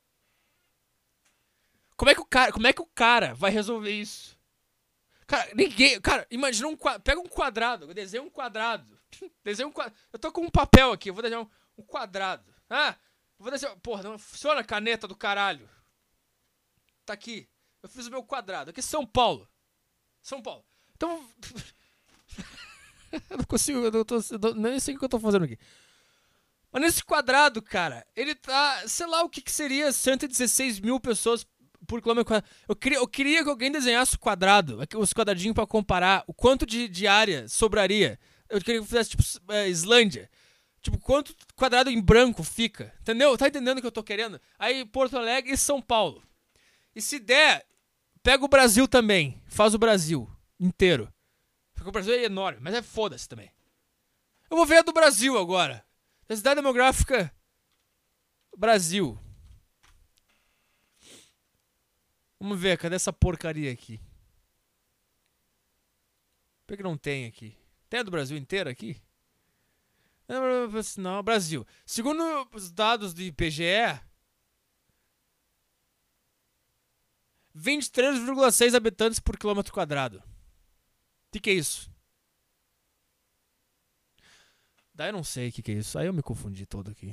Como é que o cara vai resolver isso? Cara, ninguém. Cara, imagina pega um quadrado, desenha um quadrado. Eu tô com um papel aqui, eu vou desenhar um quadrado. Vou desenhar. Porra, não funciona a caneta do caralho. Tá aqui. Eu fiz o meu quadrado. Aqui é São Paulo. Então. Eu não consigo. Nem sei o que eu tô fazendo aqui. Mas nesse quadrado, cara, ele tá. Sei lá o que seria 116 mil pessoas por quilômetro quadrado. Eu queria que alguém desenhasse o quadrado, os quadradinhos pra comparar o quanto de área sobraria. Eu queria que fizesse, tipo, Islândia. Tipo, quanto quadrado em branco fica. Entendeu? Tá entendendo o que eu tô querendo? Aí Porto Alegre e São Paulo. E se der, pega o Brasil também. Faz o Brasil inteiro. Porque o Brasil é enorme, mas foda-se também. Eu vou ver a do Brasil agora. Densidade demográfica Brasil. Vamos ver, cadê essa porcaria aqui? Por que não tem aqui? Tem a do Brasil inteira aqui? Não, Brasil. Segundo os dados do IBGE, 23,6 habitantes por quilômetro quadrado. O que é isso? Daí eu não sei o que é isso. Aí eu me confundi todo aqui.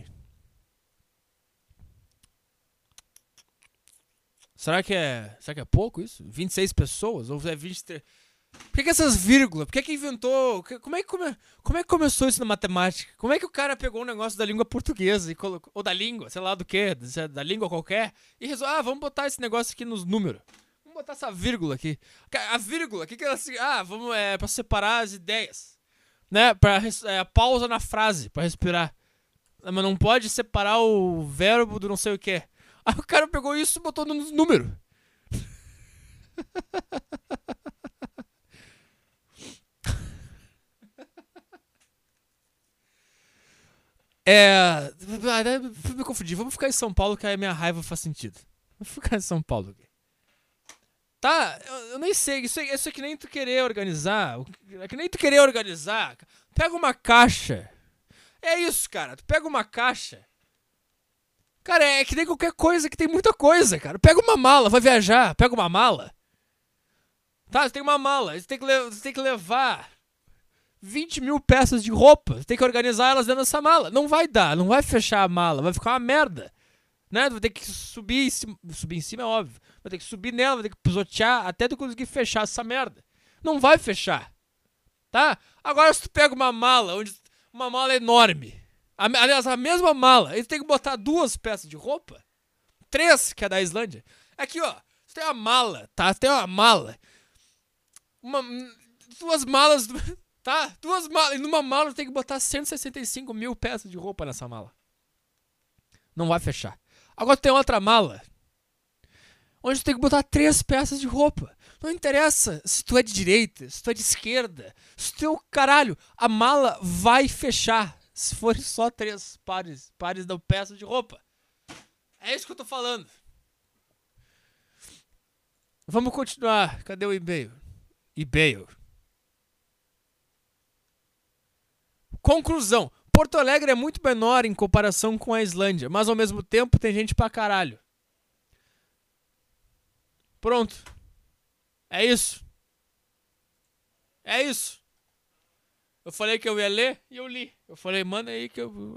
Será que é pouco isso? 26 pessoas? Ou é 23? Por que essas vírgulas? Por que inventou? Como é que começou isso na matemática? Como é que o cara pegou um negócio da língua portuguesa e colocou, ou da língua, sei lá do que, da língua qualquer, e resolveu, vamos botar esse negócio aqui nos números. Vamos botar essa vírgula aqui. A vírgula, o que ela... vamos, pra separar as ideias. Né? Pausa na frase, pra respirar. Mas não pode separar o verbo do não sei o que. Aí o cara pegou isso e botou nos números. Me confundi. Vamos ficar em São Paulo, que aí a minha raiva faz sentido. Vamos ficar em São Paulo aqui. Tá, eu nem sei. Isso é que nem tu querer organizar. É que nem tu querer organizar. Pega uma caixa. É isso, cara. Tu pega uma caixa. Cara, é que nem qualquer coisa que tem muita coisa, cara. Pega uma mala, vai viajar. Pega uma mala. Tá, você tem uma mala. Você tem que levar 20 mil peças de roupa. Você tem que organizar elas dentro dessa mala. Não vai dar, não vai fechar a mala. Vai ficar uma merda. Né? Vai ter que subir em cima. Subir em cima é óbvio. Vai ter que subir nela, vai ter que pisotear até tu conseguir fechar essa merda. Não vai fechar. Tá? Agora se tu pega uma mala, uma mala enorme. Aliás, a mesma mala. Aí tu tem que botar 2 peças de roupa. 3, que é da Islândia. Aqui, ó. Você tem uma mala, tá? Você tem uma mala. 2 malas, tá? 2 malas. E numa mala tu tem que botar 165 mil peças de roupa nessa mala. Não vai fechar. Agora tu tem outra mala, onde tu tem que botar 3 peças de roupa. Não interessa se tu é de direita, se tu é de esquerda, se tu é o caralho. A mala vai fechar se forem só 3 pares de peças de roupa. É isso que eu tô falando. Vamos continuar. Cadê o e-mail? Conclusão. Porto Alegre é muito menor em comparação com a Islândia, mas ao mesmo tempo tem gente pra caralho. Pronto. É isso. É isso. Eu falei que eu ia ler e eu li. Eu falei, manda aí que eu...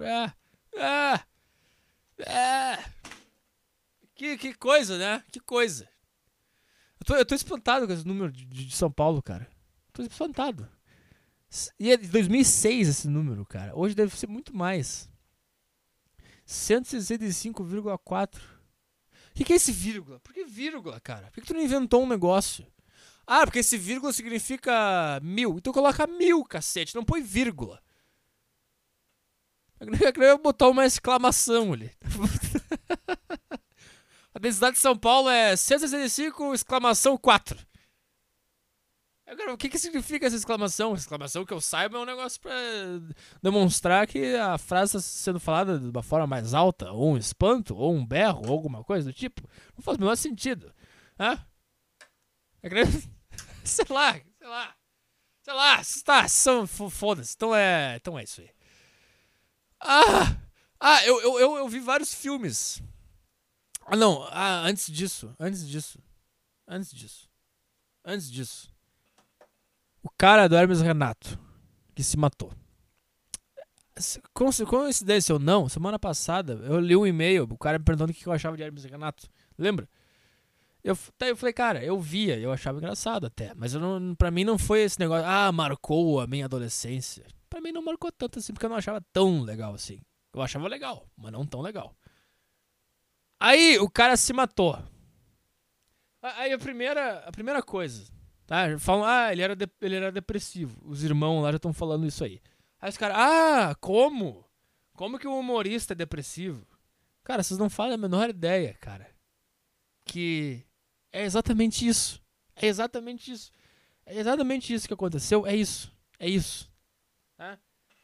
Que coisa, né? Que coisa. Eu tô espantado com esse número de São Paulo, cara. Tô espantado. E é de 2006 esse número, cara. Hoje deve ser muito mais. 165,4. O que é esse vírgula? Por que vírgula, cara? Por que tu não inventou um negócio? Ah, porque esse vírgula significa 1000. Então coloca 1000, cacete. Não põe vírgula. Eu queria botar uma exclamação ali. A densidade de São Paulo é 165, exclamação 4. Agora, o que significa essa exclamação? Exclamação que eu saiba é um negócio pra demonstrar que a frase está sendo falada de uma forma mais alta, ou um espanto, ou um berro, ou alguma coisa do tipo. Não faz o menor sentido. Hã? Sei lá. Foda-se. Então é isso aí. Eu vi vários filmes. Antes disso. O cara do Hermes Renato, que se matou. Coincidência ou não, semana passada eu li um e-mail, o cara me perguntando o que eu achava de Hermes Renato. Lembra? Eu falei, cara, eu via, eu achava engraçado até. Mas pra mim não foi esse negócio, marcou a minha adolescência. Pra mim não marcou tanto assim, porque eu não achava tão legal assim. Eu achava legal, mas não tão legal. Aí o cara se matou. Aí a primeira coisa... Tá? Falam, ele era depressivo. Os irmãos lá já estão falando isso aí. Aí os caras, como? Como que um humorista é depressivo? Cara, vocês não fazem a menor ideia, cara. Que é exatamente isso. É exatamente isso que aconteceu. É isso. Tá?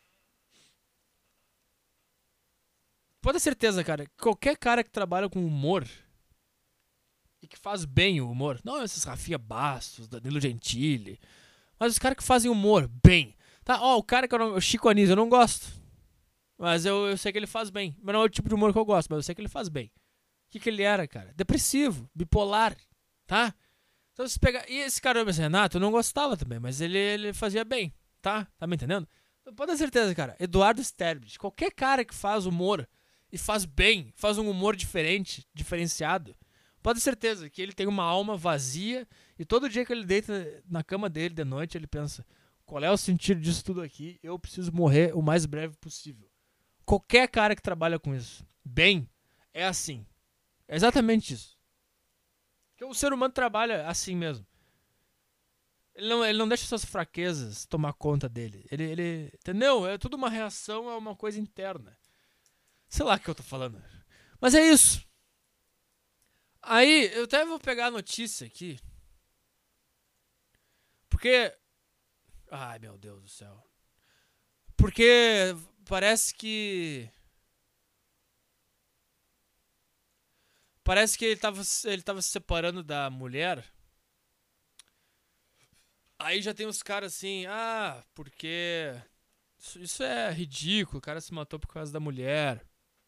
Pode ter certeza, cara. Qualquer cara que trabalha com humor... e que faz bem o humor. Não esses Rafinha Bastos, Danilo Gentili. Mas os caras que fazem humor bem. Tá, o cara que o Chico Anísio, eu não gosto. Mas eu sei que ele faz bem. Mas não é o tipo de humor que eu gosto, mas eu sei que ele faz bem. O que ele era, cara? Depressivo, bipolar, tá? Então você pega. E esse cara, esse Renato, eu não gostava também, mas ele fazia bem, tá? Tá me entendendo? Então, pode ter certeza, cara. Eduardo Sterblich, qualquer cara que faz humor e faz bem, faz um humor diferente, diferenciado, pode ter certeza que ele tem uma alma vazia e todo dia que ele deita na cama dele de noite, ele pensa: qual é o sentido disso tudo aqui? Eu preciso morrer o mais breve possível. Qualquer cara que trabalha com isso, bem, é assim. É exatamente isso. Porque o ser humano trabalha assim mesmo. Ele não deixa suas fraquezas tomar conta dele. Entendeu? É tudo uma reação a uma coisa interna. Sei lá o que eu tô falando. Mas é isso. Aí, eu até vou pegar a notícia aqui. Porque. Ai, meu Deus do céu. Porque parece que. Parece que ele tava se separando da mulher. Aí já tem uns caras assim, porque isso é ridículo, o cara se matou por causa da mulher.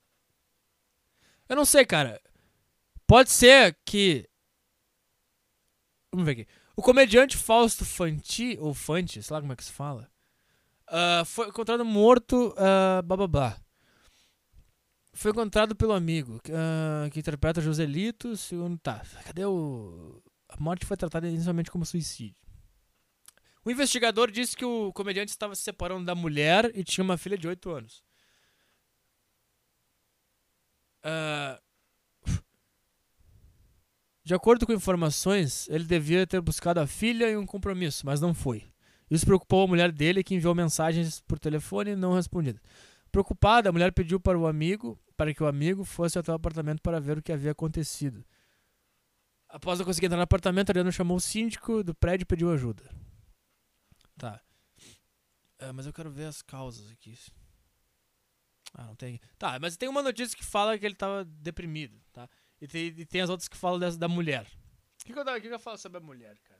Eu não sei, cara. Pode ser que. Vamos ver aqui. O comediante Fausto Fanti, ou Fanti, sei lá como é que se fala, foi encontrado morto, bababá. Foi encontrado pelo amigo, que interpreta Joselito, segundo. Tá, cadê o. A morte foi tratada inicialmente como suicídio. O investigador disse que o comediante estava se separando da mulher e tinha uma filha de 8 anos. De acordo com informações, ele devia ter buscado a filha em um compromisso, mas não foi. Isso preocupou a mulher dele, que enviou mensagens por telefone não respondidas. Preocupada, a mulher pediu para que o amigo fosse até o apartamento para ver o que havia acontecido. Após não conseguir entrar no apartamento, Adriano chamou o síndico do prédio e pediu ajuda. Tá. Mas eu quero ver as causas aqui. Não tem. Tá, mas tem uma notícia que fala que ele tava deprimido, tá? E tem as outras que falam da mulher. O que eu falo sobre a mulher, cara?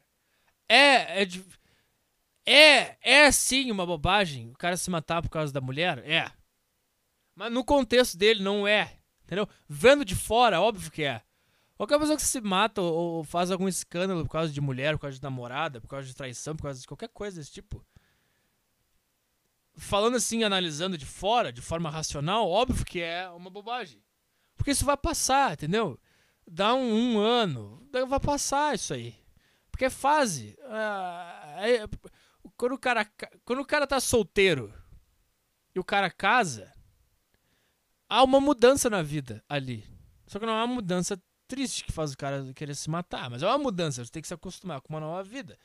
É sim uma bobagem o cara se matar por causa da mulher? É. Mas no contexto dele não é. Entendeu? Vendo de fora, óbvio que é. Qualquer pessoa que se mata ou faz algum escândalo por causa de mulher, por causa de namorada, por causa de traição, por causa de qualquer coisa desse tipo. Falando assim, analisando de fora, de forma racional, óbvio que é uma bobagem. Porque isso vai passar, entendeu? Dá um ano, vai passar isso aí. Porque é fase. Quando o cara tá solteiro e o cara casa, há uma mudança na vida ali. Só que não é uma mudança triste que faz o cara querer se matar, mas é uma mudança, você tem que se acostumar com uma nova vida.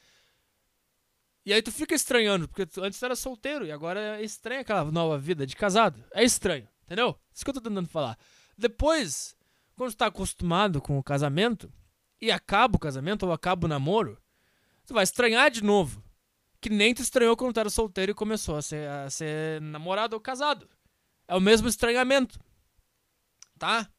E aí tu fica estranhando, porque antes tu era solteiro e agora é estranho aquela nova vida de casado. É estranho, entendeu? Isso que eu tô tentando falar. Depois, quando tu tá acostumado com o casamento, e acaba o casamento ou acaba o namoro, tu vai estranhar de novo. Que nem tu estranhou quando tu era solteiro e começou a ser namorado ou casado. É o mesmo estranhamento. Tá?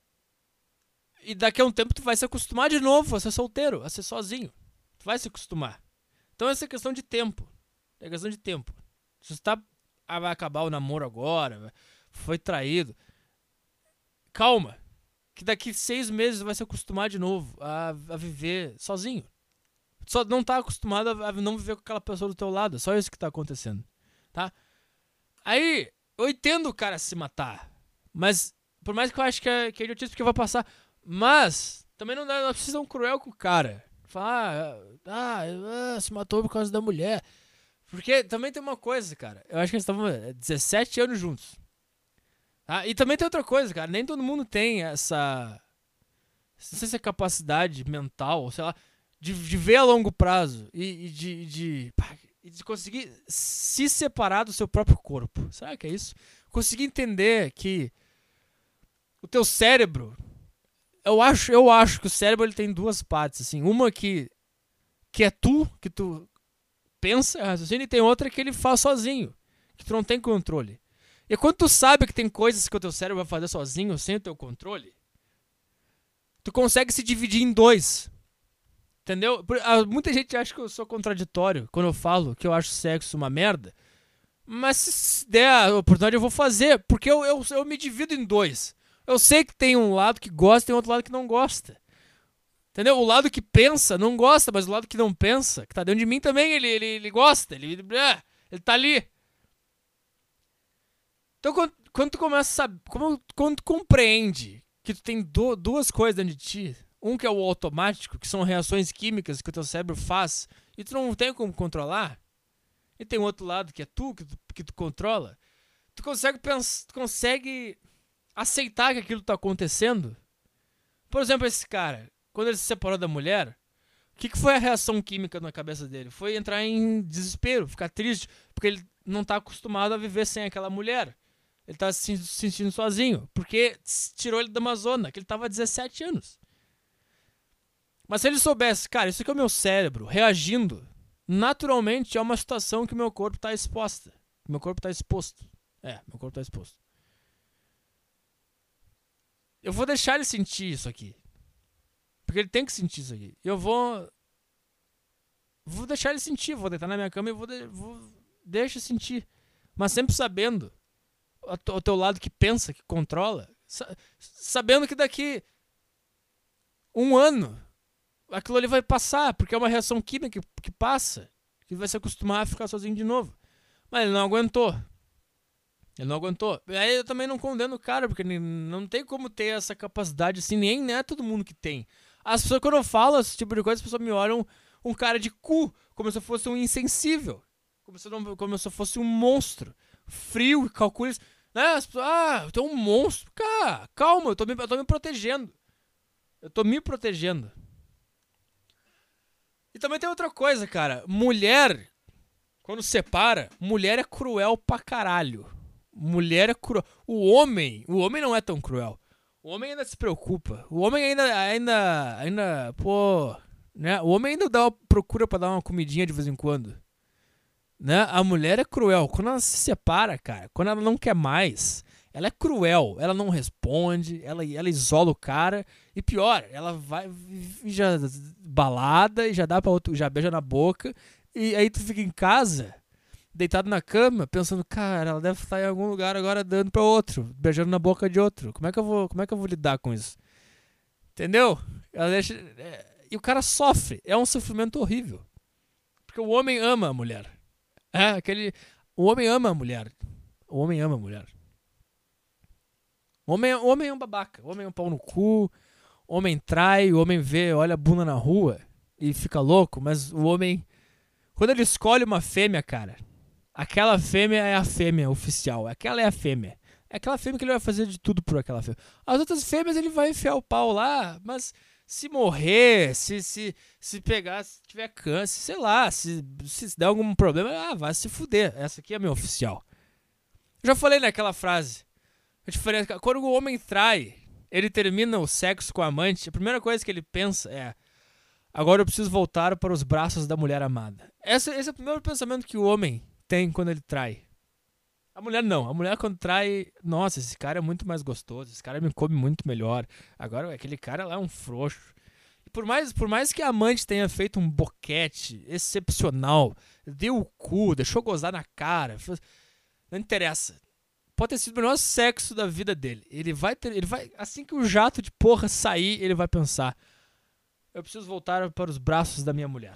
E daqui a um tempo tu vai se acostumar de novo a ser solteiro, a ser sozinho. Tu vai se acostumar. Então essa é questão de tempo. É questão de tempo. Se você vai acabar o namoro agora, foi traído, calma. Que daqui 6 meses vai se acostumar de novo a viver sozinho. Só não tá acostumado a não viver com aquela pessoa do teu lado. É só isso que tá acontecendo. Tá? Aí, eu entendo o cara se matar. Mas, por mais que eu acho que é idiotice, porque vai passar. Mas, também não precisa ser tão cruel com o cara. Falar, se matou por causa da mulher. Porque também tem uma coisa, cara. Eu acho que eles estavam 17 anos juntos. Tá? E também tem outra coisa, cara. Nem todo mundo tem essa. Não sei se é capacidade mental, sei lá, de ver a longo prazo e de conseguir se separar do seu próprio corpo. Será que é isso? Conseguir entender que o teu cérebro. Eu acho que o cérebro ele tem duas partes, assim. Uma que é que tu pensa, raciocina, e tem outra que ele faz sozinho, que tu não tem controle. E quando tu sabe que tem coisas que o teu cérebro vai fazer sozinho, sem o teu controle, tu consegue se dividir em dois. Entendeu? Muita gente acha que eu sou contraditório quando eu falo que eu acho sexo uma merda. Mas se der a oportunidade eu vou fazer, porque eu me divido em dois. Eu sei que tem um lado que gosta e tem outro lado que não gosta. Entendeu? O lado que pensa não gosta, mas o lado que não pensa, que tá dentro de mim também, ele gosta. Ele tá ali. Então quando tu começa a saber, quando tu compreende que tu tem duas coisas dentro de ti, um que é o automático, que são reações químicas que o teu cérebro faz, e tu não tem como controlar, e tem um outro lado que é que tu controla, tu consegue pensar, tu consegue aceitar que aquilo tá acontecendo. Por exemplo, esse cara, quando ele se separou da mulher, o que foi a reação química na cabeça dele? Foi entrar em desespero, ficar triste, porque ele não tá acostumado a viver sem aquela mulher. Ele tá se sentindo sozinho, porque tirou ele da Amazônia, que ele tava há 17 anos. Mas se ele soubesse, cara, isso aqui é o meu cérebro reagindo, naturalmente é uma situação que o meu corpo tá exposta. Meu corpo tá exposto. Meu corpo tá exposto. Eu vou deixar ele sentir isso aqui. Porque ele tem que sentir isso aqui. Eu vou deixar ele sentir. Vou deitar na minha cama e deixa sentir. Mas sempre sabendo o teu lado que pensa, que controla. Sabendo que daqui um ano aquilo ali vai passar. Porque é uma reação química que passa. Que vai se acostumar a ficar sozinho de novo. Mas ele não aguentou. Aí eu também não condeno o cara, porque não tem como ter essa capacidade assim, nem é todo mundo que tem. As pessoas, quando eu falo esse tipo de coisa, as pessoas me olham um cara de cu, como se eu fosse um insensível, como se eu fosse um monstro, frio e calculista. Né? As pessoas, tu é um monstro. Cara, calma, eu tô me protegendo. Eu tô me protegendo. E também tem outra coisa, cara. Mulher, quando separa, mulher é cruel pra caralho. Mulher é cruel. O homem não é tão cruel. O homem ainda se preocupa. O homem ainda, pô, né? O homem ainda procura pra dar uma comidinha de vez em quando. Né? A mulher é cruel. Quando ela se separa, cara, quando ela não quer mais, ela é cruel. Ela não responde, ela isola o cara. E pior, ela vai já balada e já dá pra outro, já beija na boca. E aí tu fica em casa, deitado na cama, pensando, cara, ela deve estar em algum lugar agora dando pra outro, beijando na boca de outro. Como é que eu vou lidar com isso? Entendeu? Ela deixa... E o cara sofre. É um sofrimento horrível. Porque o homem ama a mulher. O homem ama a mulher. O homem ama a mulher. O homem é um babaca. O homem é um pau no cu. O homem trai. O homem olha a bunda na rua e fica louco. Mas o homem... Quando ele escolhe uma fêmea, cara... Aquela fêmea é a fêmea oficial. Aquela é a fêmea. É aquela fêmea que ele vai fazer de tudo por aquela fêmea. As outras fêmeas ele vai enfiar o pau lá, mas se morrer, se pegar, se tiver câncer, sei lá, se der algum problema, vai se fuder. Essa aqui é a minha oficial. Eu já falei naquela frase. A diferença, quando o homem trai, ele termina o sexo com a amante, a primeira coisa que ele pensa é: agora eu preciso voltar para os braços da mulher amada. Esse é o primeiro pensamento que o homem tem quando ele trai. A mulher não. A mulher quando trai, nossa, esse cara é muito mais gostoso, esse cara me come muito melhor. Agora aquele cara lá é um frouxo. E por mais que a amante tenha feito um boquete excepcional, deu o cu, deixou gozar na cara, não interessa. Pode ter sido o melhor sexo da vida dele. Ele vai, assim que o jato de porra sair, ele vai pensar: eu preciso voltar para os braços da minha mulher.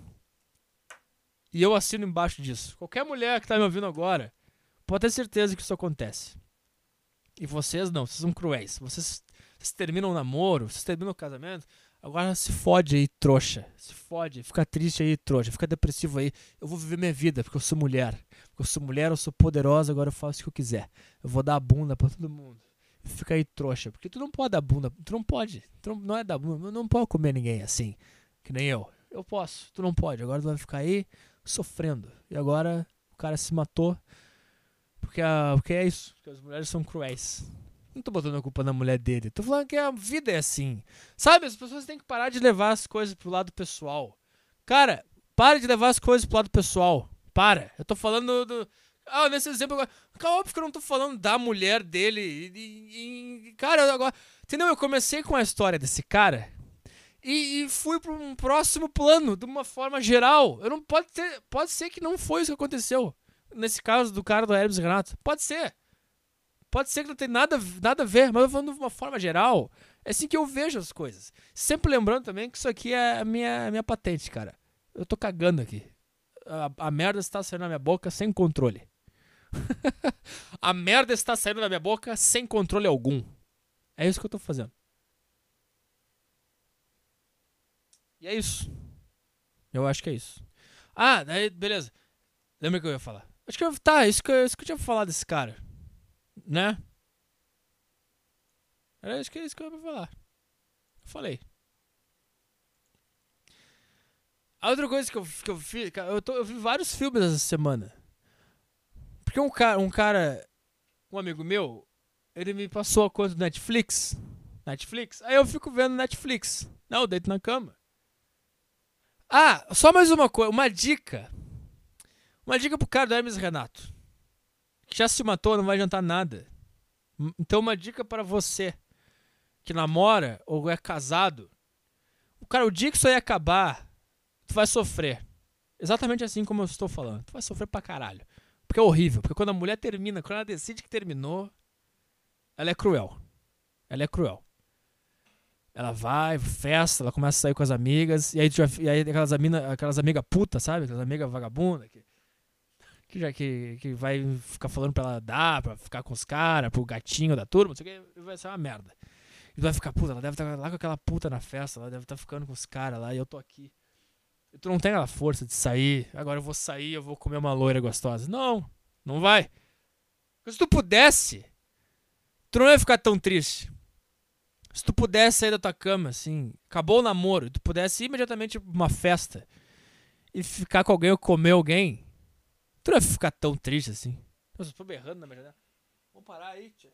E eu assino embaixo disso. Qualquer mulher que tá me ouvindo agora, pode ter certeza que isso acontece. E vocês não, vocês são cruéis. Vocês terminam o namoro, vocês terminam o casamento, agora se fode aí, trouxa. Se fode, fica triste aí, trouxa. Fica depressivo aí. Eu vou viver minha vida, porque eu sou mulher. Porque eu sou mulher, eu sou poderosa, agora eu faço o que eu quiser. Eu vou dar a bunda pra todo mundo. Fica aí, trouxa. Porque tu não pode dar bunda. Tu não pode. Não é dar bunda. Não pode comer ninguém assim. Que nem eu. Eu posso. Tu não pode. Agora tu vai ficar aí sofrendo. E agora o cara se matou porque é isso, porque as mulheres são cruéis. Não tô botando a culpa na mulher dele, tô falando que a vida é assim, sabe? As pessoas têm que parar de levar as coisas pro lado pessoal. Cara, para de levar as coisas pro lado pessoal. Eu tô falando nesse exemplo agora, óbvio que eu não tô falando da mulher dele cara, agora, entendeu? Eu comecei com a história desse cara e fui para um próximo plano, de uma forma geral. Pode ser que não foi isso que aconteceu. nesse caso do cara do Hermes e Renato. Pode ser. Pode ser que não tenha nada a ver, mas eu falando de uma forma geral. É assim que eu vejo as coisas. Sempre lembrando também que isso aqui é a minha patente, cara. Eu tô cagando aqui. A merda está saindo da minha boca sem controle. A merda está saindo da minha boca sem controle algum. É isso que eu tô fazendo. E é isso. Eu acho que é isso. Ah, daí, beleza. Lembra que eu ia falar? Acho que isso que eu tinha falado desse cara. Né? Era isso que eu ia falar. Eu falei. A outra coisa que eu fiz. Eu vi vários filmes essa semana. Porque um amigo meu, ele me passou a conta do Netflix. Aí eu fico vendo Netflix. Não, eu deito na cama. Ah, só mais uma coisa, uma dica. Uma dica pro cara do Hermes e Renato. Que já se matou, não vai adiantar nada. Então uma dica para você que namora ou é casado. O dia que isso aí acabar, tu vai sofrer. Exatamente assim como eu estou falando. Tu vai sofrer pra caralho. Porque é horrível. Porque quando a mulher termina, quando ela decide que terminou, ela é cruel. Ela vai, festa, ela começa a sair com as amigas, e aí aquelas amigas putas, sabe? Aquelas amigas vagabundas que vai ficar falando pra ela dar, pra ficar com os caras, pro gatinho da turma, não sei o que, vai ser uma merda. E tu vai ficar, puta, ela deve estar lá com aquela puta na festa, ela deve estar ficando com os caras lá, e eu tô aqui. E tu não tem aquela força de sair, agora eu vou sair, eu vou comer uma loira gostosa. Não vai. Porque se tu pudesse, tu não ia ficar tão triste. Se tu pudesse sair da tua cama, assim, acabou o namoro, tu pudesse ir imediatamente pra uma festa e ficar com alguém ou comer alguém, tu não ia ficar tão triste assim. Nossa, eu tô berrando na minha janela. Vamos parar aí, tia.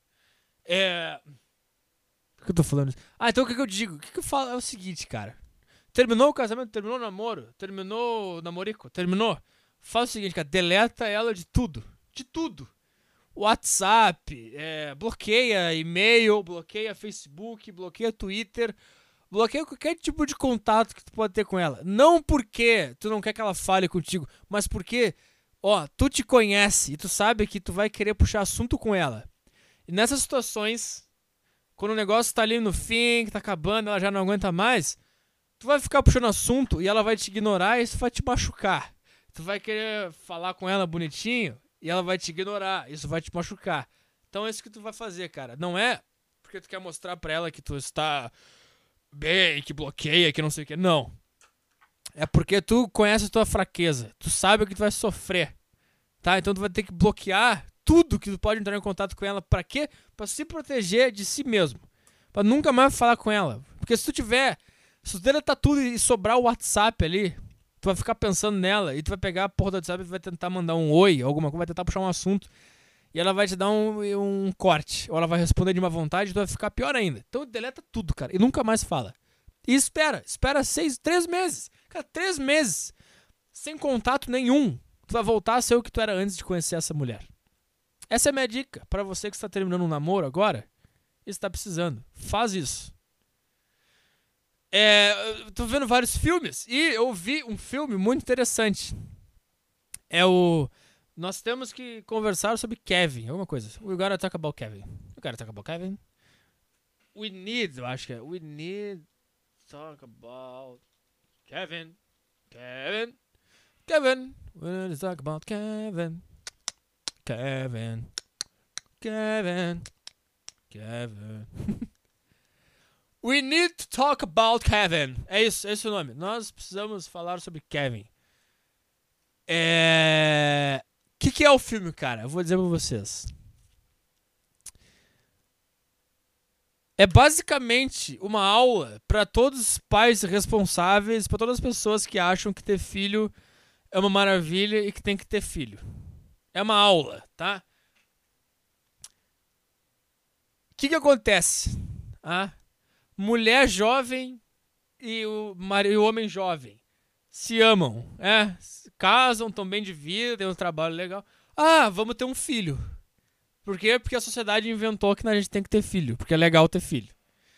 Por que eu tô falando isso? Ah, então o que eu digo? O que eu falo é o seguinte, cara. Terminou o casamento, terminou o namoro, terminou o namorico, terminou. Faz o seguinte, cara, deleta ela de tudo. De tudo. WhatsApp, bloqueia e-mail, bloqueia Facebook, bloqueia Twitter, bloqueia qualquer tipo de contato que tu pode ter com ela. Não porque tu não quer que ela fale contigo, mas porque, tu te conhece e tu sabe que tu vai querer puxar assunto com ela. E nessas situações, quando o negócio tá ali no fim, que tá acabando, ela já não aguenta mais, tu vai ficar puxando assunto e ela vai te ignorar e isso vai te machucar. Tu vai querer falar com ela bonitinho e ela vai te ignorar. Isso vai te machucar. Então é isso que tu vai fazer, cara. Não é porque tu quer mostrar pra ela que tu está bem, que bloqueia, que não sei o que. Não. É porque tu conhece a tua fraqueza. Tu sabe o que tu vai sofrer. Tá? Então tu vai ter que bloquear tudo que tu pode entrar em contato com ela. Pra quê? Pra se proteger de si mesmo. Pra nunca mais falar com ela. Porque se tu deletar tudo e sobrar o WhatsApp ali, tu vai ficar pensando nela e tu vai pegar a porra do WhatsApp e vai tentar mandar um oi, alguma coisa, vai tentar puxar um assunto e ela vai te dar um corte, ou ela vai responder de má vontade e tu vai ficar pior ainda. Então deleta tudo, cara, e nunca mais fala. E espera 3 meses. Cara, 3 meses sem contato nenhum. Tu vai voltar a ser o que tu era antes de conhecer essa mulher. Essa é a minha dica pra você que está terminando um namoro agora e está precisando. Faz isso. Eu tô vendo vários filmes e eu vi um filme muito interessante. Nós temos que conversar sobre Kevin, alguma coisa. We gotta talk about Kevin. We need, eu acho que é. We need to talk about Kevin. We need to talk about Kevin. We need to talk about Kevin. É isso, esse é o nome. Nós precisamos falar sobre Kevin. Que é o filme, cara? Eu vou dizer pra vocês. É basicamente uma aula pra todos os pais responsáveis, pra todas as pessoas que acham que ter filho é uma maravilha e que tem que ter filho. É uma aula, tá? O que acontece? Mulher jovem e o homem jovem se amam, casam, tão bem de vida, tem um trabalho legal. Vamos ter um filho. Por quê? Porque a sociedade inventou que a gente tem que ter filho, porque é legal ter filho.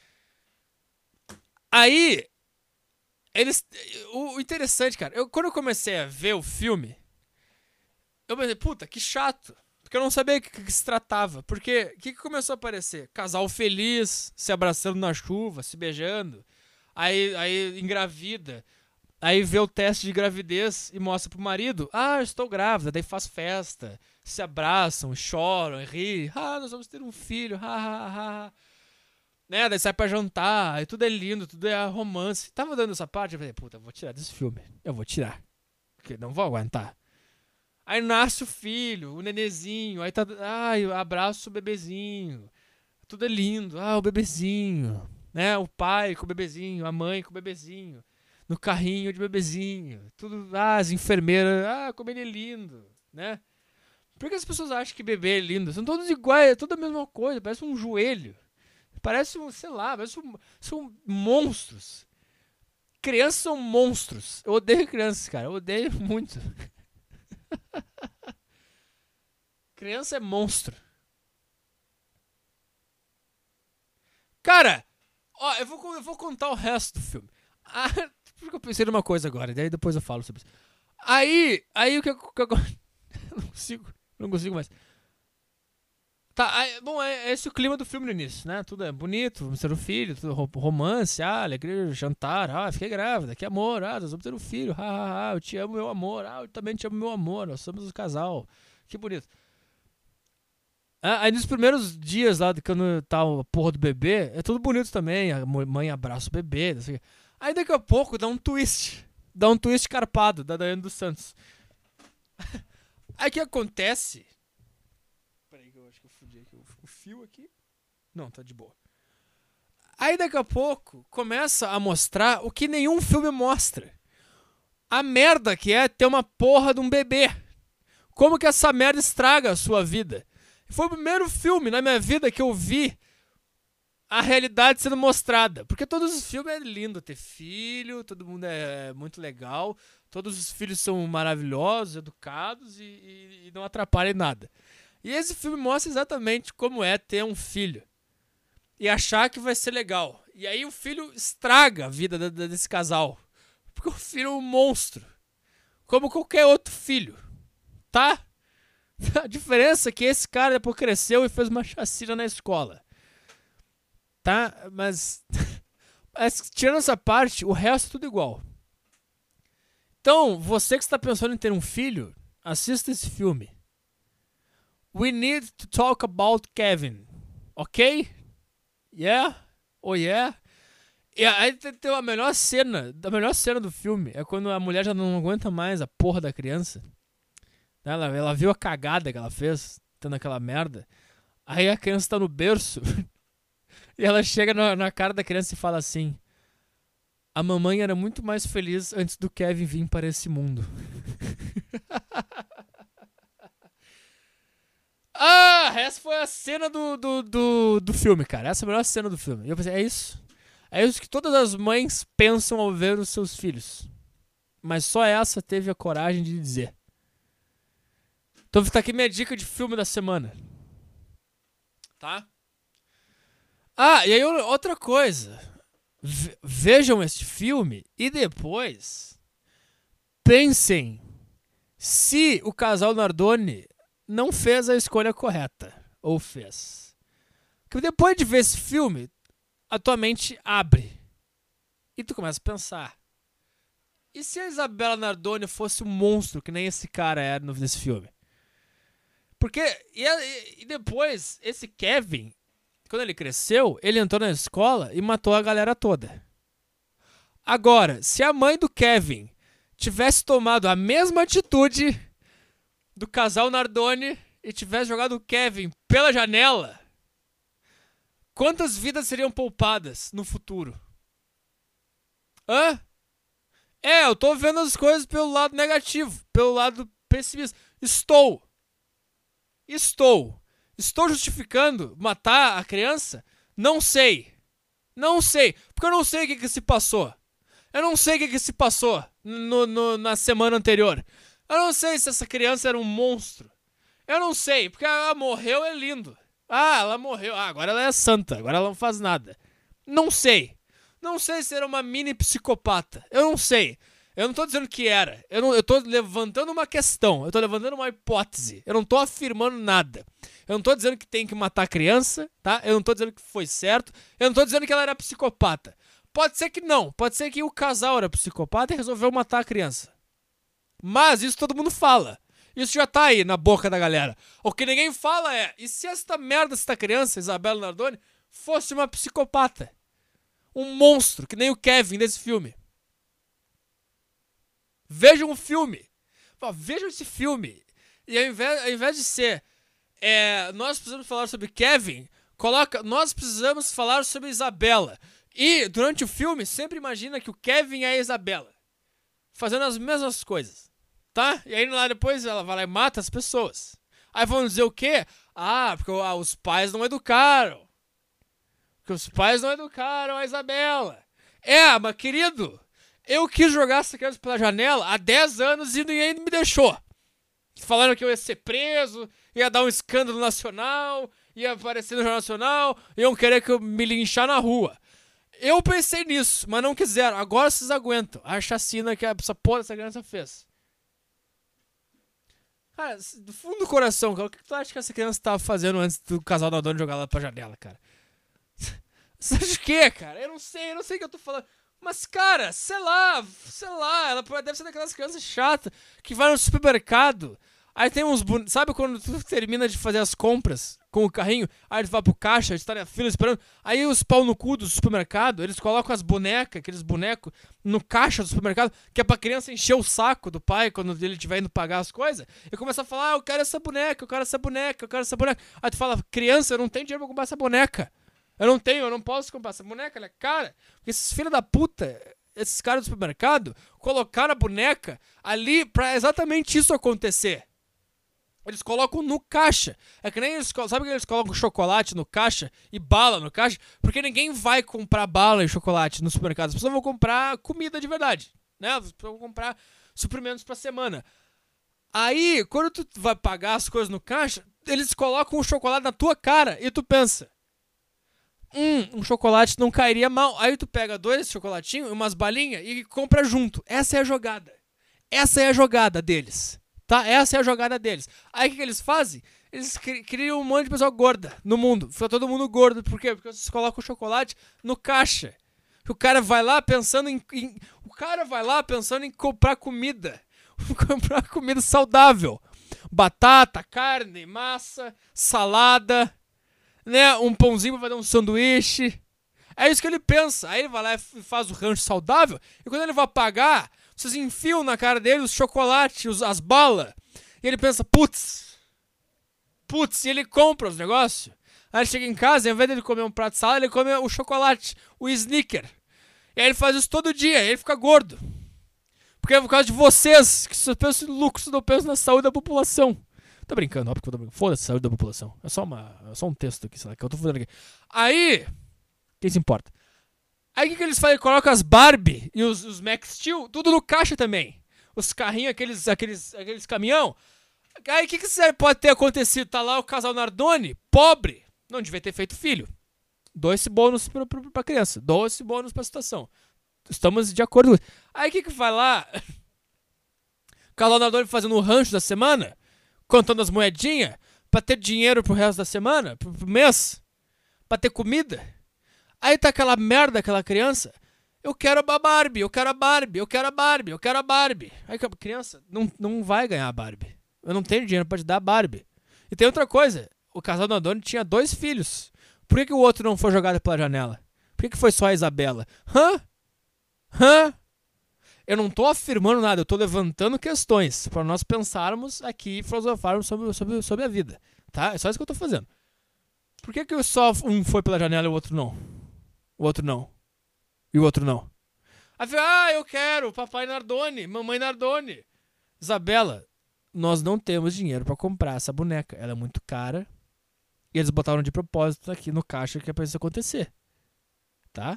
Aí, o interessante, cara, quando eu comecei a ver o filme, Eu pensei, puta, que chato. Porque eu não sabia o que se tratava. Porque o que começou a aparecer? Casal feliz, se abraçando na chuva, se beijando. Aí engravida. Aí vê o teste de gravidez e mostra pro marido. Ah, eu estou grávida. Daí faz festa. Se abraçam, choram, riem. Ah, nós vamos ter um filho. Né? Daí sai pra jantar. Aí tudo é lindo, tudo é romance. Tava dando essa parte. Eu falei, puta, eu vou tirar desse filme. Eu vou tirar. Porque não vou aguentar. Aí nasce o filho, o nenezinho. Aí tá. Ai, abraço o bebezinho. Tudo é lindo. Ah, o bebezinho. Né? O pai com o bebezinho, a mãe com o bebezinho. No carrinho de bebezinho. Tudo. Ah, as enfermeiras. Ah, como ele é lindo. Né? Por que as pessoas acham que bebê é lindo? São todos iguais, é tudo a mesma coisa. Parece um joelho. Parece um, sei lá, são monstros. Crianças são monstros. Eu odeio crianças, cara. Eu odeio muito. Criança é monstro. Cara, ó, eu vou contar o resto do filme. Ah, porque eu pensei numa coisa agora, daí depois eu falo sobre isso. Aí o que eu não consigo mais. Tá, bom, é esse o clima do filme no início, né? Tudo é bonito, vamos ter um filho, tudo romance, alegria, jantar, fiquei grávida, que amor, nós vamos ter um filho, eu te amo, meu amor, eu também te amo, meu amor, nós somos um casal, que bonito. Aí nos primeiros dias lá, quando tá a porra do bebê, é tudo bonito também, a mãe abraça o bebê, não sei o quê. Aí daqui a pouco dá um twist carpado da Daiane dos Santos. Aí o que acontece... Peraí que eu acho que eu fudi aqui o fio aqui. Não, tá de boa. Aí daqui a pouco começa a mostrar o que nenhum filme mostra. A merda que é ter uma porra de um bebê. Como que essa merda estraga a sua vida. Foi o primeiro filme na minha vida que eu vi a realidade sendo mostrada. Porque todos os filmes é lindo ter filho, todo mundo é muito legal, todos os filhos são maravilhosos, educados e não atrapalham em nada. E esse filme mostra exatamente como é ter um filho e achar que vai ser legal. E aí o filho estraga a vida desse casal. Porque o filho é um monstro. Como qualquer outro filho. Tá? A diferença é que esse cara depois cresceu e fez uma chacina na escola. Tá? Mas tirando essa parte, o resto é tudo igual. Então, você que está pensando em ter um filho, assista esse filme. We need to talk about Kevin. Ok? Yeah? Oh yeah? E aí tem a melhor cena do filme é quando a mulher já não aguenta mais a porra da criança. Ela viu a cagada que ela fez, tendo aquela merda. Aí a criança tá no berço e ela chega na cara da criança e fala assim: a mamãe era muito mais feliz antes do Kevin vir para esse mundo. Essa foi a cena do filme, cara. Essa é a melhor cena do filme. E eu pensei, é isso. É isso que todas as mães pensam ao ver os seus filhos. Mas só essa teve a coragem de dizer. Então tá aqui minha dica de filme da semana. Tá? E aí outra coisa. Vejam este filme e depois pensem se o casal Nardoni não fez a escolha correta. Ou fez. Porque depois de ver esse filme, a tua mente abre. E tu começa a pensar. E se a Isabela Nardoni fosse um monstro, que nem esse cara era nesse filme? Porque, e depois, esse Kevin, quando ele cresceu, ele entrou na escola e matou a galera toda. Agora, se a mãe do Kevin tivesse tomado a mesma atitude do casal Nardoni e tivesse jogado o Kevin pela janela, quantas vidas seriam poupadas no futuro? Eu tô vendo as coisas pelo lado negativo, pelo lado pessimista. Estou justificando matar a criança? Não sei. Porque eu não sei o que se passou. Eu não sei o que se passou na semana anterior. Eu não sei se essa criança era um monstro. Eu não sei, porque ela morreu, é lindo. Ela morreu. Agora ela é santa, agora ela não faz nada. Não sei. Não sei se era uma mini psicopata. Eu não sei. Eu não tô dizendo que era. Eu tô levantando uma questão. Eu tô levantando uma hipótese. Eu não tô afirmando nada. Eu não tô dizendo que tem que matar a criança, tá? Eu não tô dizendo que foi certo. Eu não tô dizendo que ela era psicopata. Pode ser que não. Pode ser que o casal era psicopata e resolveu matar a criança. Mas isso todo mundo fala. Isso já tá aí na boca da galera. O que ninguém fala é, e se esta merda, esta criança, Isabela Nardoni, fosse uma psicopata? Um monstro, que nem o Kevin desse filme. Vejam o filme. Vejam esse filme. E ao invés de ser nós precisamos falar sobre Kevin, coloca nós precisamos falar sobre Isabela. E durante o filme, sempre imagina que o Kevin é a Isabela. Fazendo as mesmas coisas. Tá? E aí lá depois ela vai lá e mata as pessoas. Aí vão dizer o quê? Porque os pais não educaram. Porque os pais não educaram a Isabela. Mas querido, eu quis jogar essa criança pela janela há 10 anos e ninguém me deixou. Falaram que eu ia ser preso, ia dar um escândalo nacional, ia aparecer no Jornal Nacional, iam querer que eu me linchar na rua. Eu pensei nisso, mas não quiseram. Agora vocês aguentam a chacina que essa porra dessa criança fez. Cara, do fundo do coração, cara, o que tu acha que essa criança tava fazendo antes do casal da dona jogar ela pra janela, cara? Você acha o quê, cara? Eu não sei o que eu tô falando. Mas, cara, sei lá, ela deve ser daquelas crianças chatas que vai no supermercado, aí tem uns bonecos. Sabe quando tu termina de fazer as compras com o carrinho, aí tu vai pro caixa, tu tá na fila esperando, aí os pau no cu do supermercado, eles colocam as bonecas, aqueles bonecos, no caixa do supermercado, que é pra criança encher o saco do pai quando ele estiver indo pagar as coisas, e começa a falar, eu quero essa boneca, eu quero essa boneca, eu quero essa boneca. Aí tu fala, criança, eu não tenho dinheiro pra comprar essa boneca. Eu não posso comprar essa boneca, ela é cara. Porque esses filhos da puta, esses caras do supermercado, colocaram a boneca ali pra exatamente isso acontecer. Eles colocam no caixa. É que nem eles, sabe que eles colocam chocolate no caixa e bala no caixa? Porque ninguém vai comprar bala e chocolate no supermercado. As pessoas vão comprar comida de verdade, né? As pessoas vão comprar suprimentos pra semana. Aí, quando tu vai pagar as coisas no caixa, eles colocam o chocolate na tua cara e tu pensa, um chocolate não cairia mal. Aí tu pega 2 chocolatinhos, umas balinhas e compra junto. Essa é a jogada. Essa é a jogada deles. Tá? Essa é a jogada deles. Aí o que eles fazem? Eles criam um monte de pessoa gorda no mundo. Fica todo mundo gordo. Por quê? Porque vocês colocam o chocolate no caixa. O cara vai lá pensando em comprar comida. Comprar comida saudável. Batata, carne, massa, salada, né? Um pãozinho pra fazer um sanduíche. É isso que ele pensa. Aí ele vai lá e faz o rancho saudável. E quando ele vai pagar, vocês enfiam na cara dele os chocolates, as balas. E ele pensa, putz, e ele compra os negócios. Aí ele chega em casa, ao invés de ele comer um prato de salada, ele come o chocolate, o Snicker. E aí ele faz isso todo dia, e ele fica gordo. Porque é por causa de vocês, que só pensam em lucro, não pensam na saúde da população. Tô brincando, óbvio que eu tô brincando. Foda-se a saúde da população. É só um texto aqui, sei lá, que eu tô fazendo aqui. Aí, quem se importa? Aí o que eles fazem? Colocam as Barbie e os Max Steel, tudo no caixa também. Os carrinhos, aqueles caminhão. Aí o que pode ter acontecido? Tá lá o casal Nardoni, pobre, não devia ter feito filho. Dou esse bônus pra criança, dou esse bônus pra situação. Estamos de acordo com isso. Aí o que vai lá? O casal Nardoni fazendo o rancho da semana, contando as moedinhas, pra ter dinheiro pro resto da semana, pro mês, pra ter comida. Aí tá aquela merda, aquela criança. Eu quero a Barbie, eu quero a Barbie, eu quero a Barbie, eu quero a Barbie. Aí a criança não vai ganhar a Barbie. Eu não tenho dinheiro pra te dar a Barbie. E tem outra coisa. O casal Nardoni tinha 2 filhos. Por que o outro não foi jogado pela janela? Por que foi só a Isabela? Eu não tô afirmando nada, eu tô levantando questões pra nós pensarmos aqui e filosofarmos sobre a vida. Tá? É só isso que eu tô fazendo. Por que só um foi pela janela e o outro não? O outro não. E o outro não. Aí eu quero papai Nardoni, mamãe Nardoni. Isabela, nós não temos dinheiro pra comprar essa boneca. Ela é muito cara. E eles botaram de propósito aqui no caixa que é pra isso acontecer. Tá?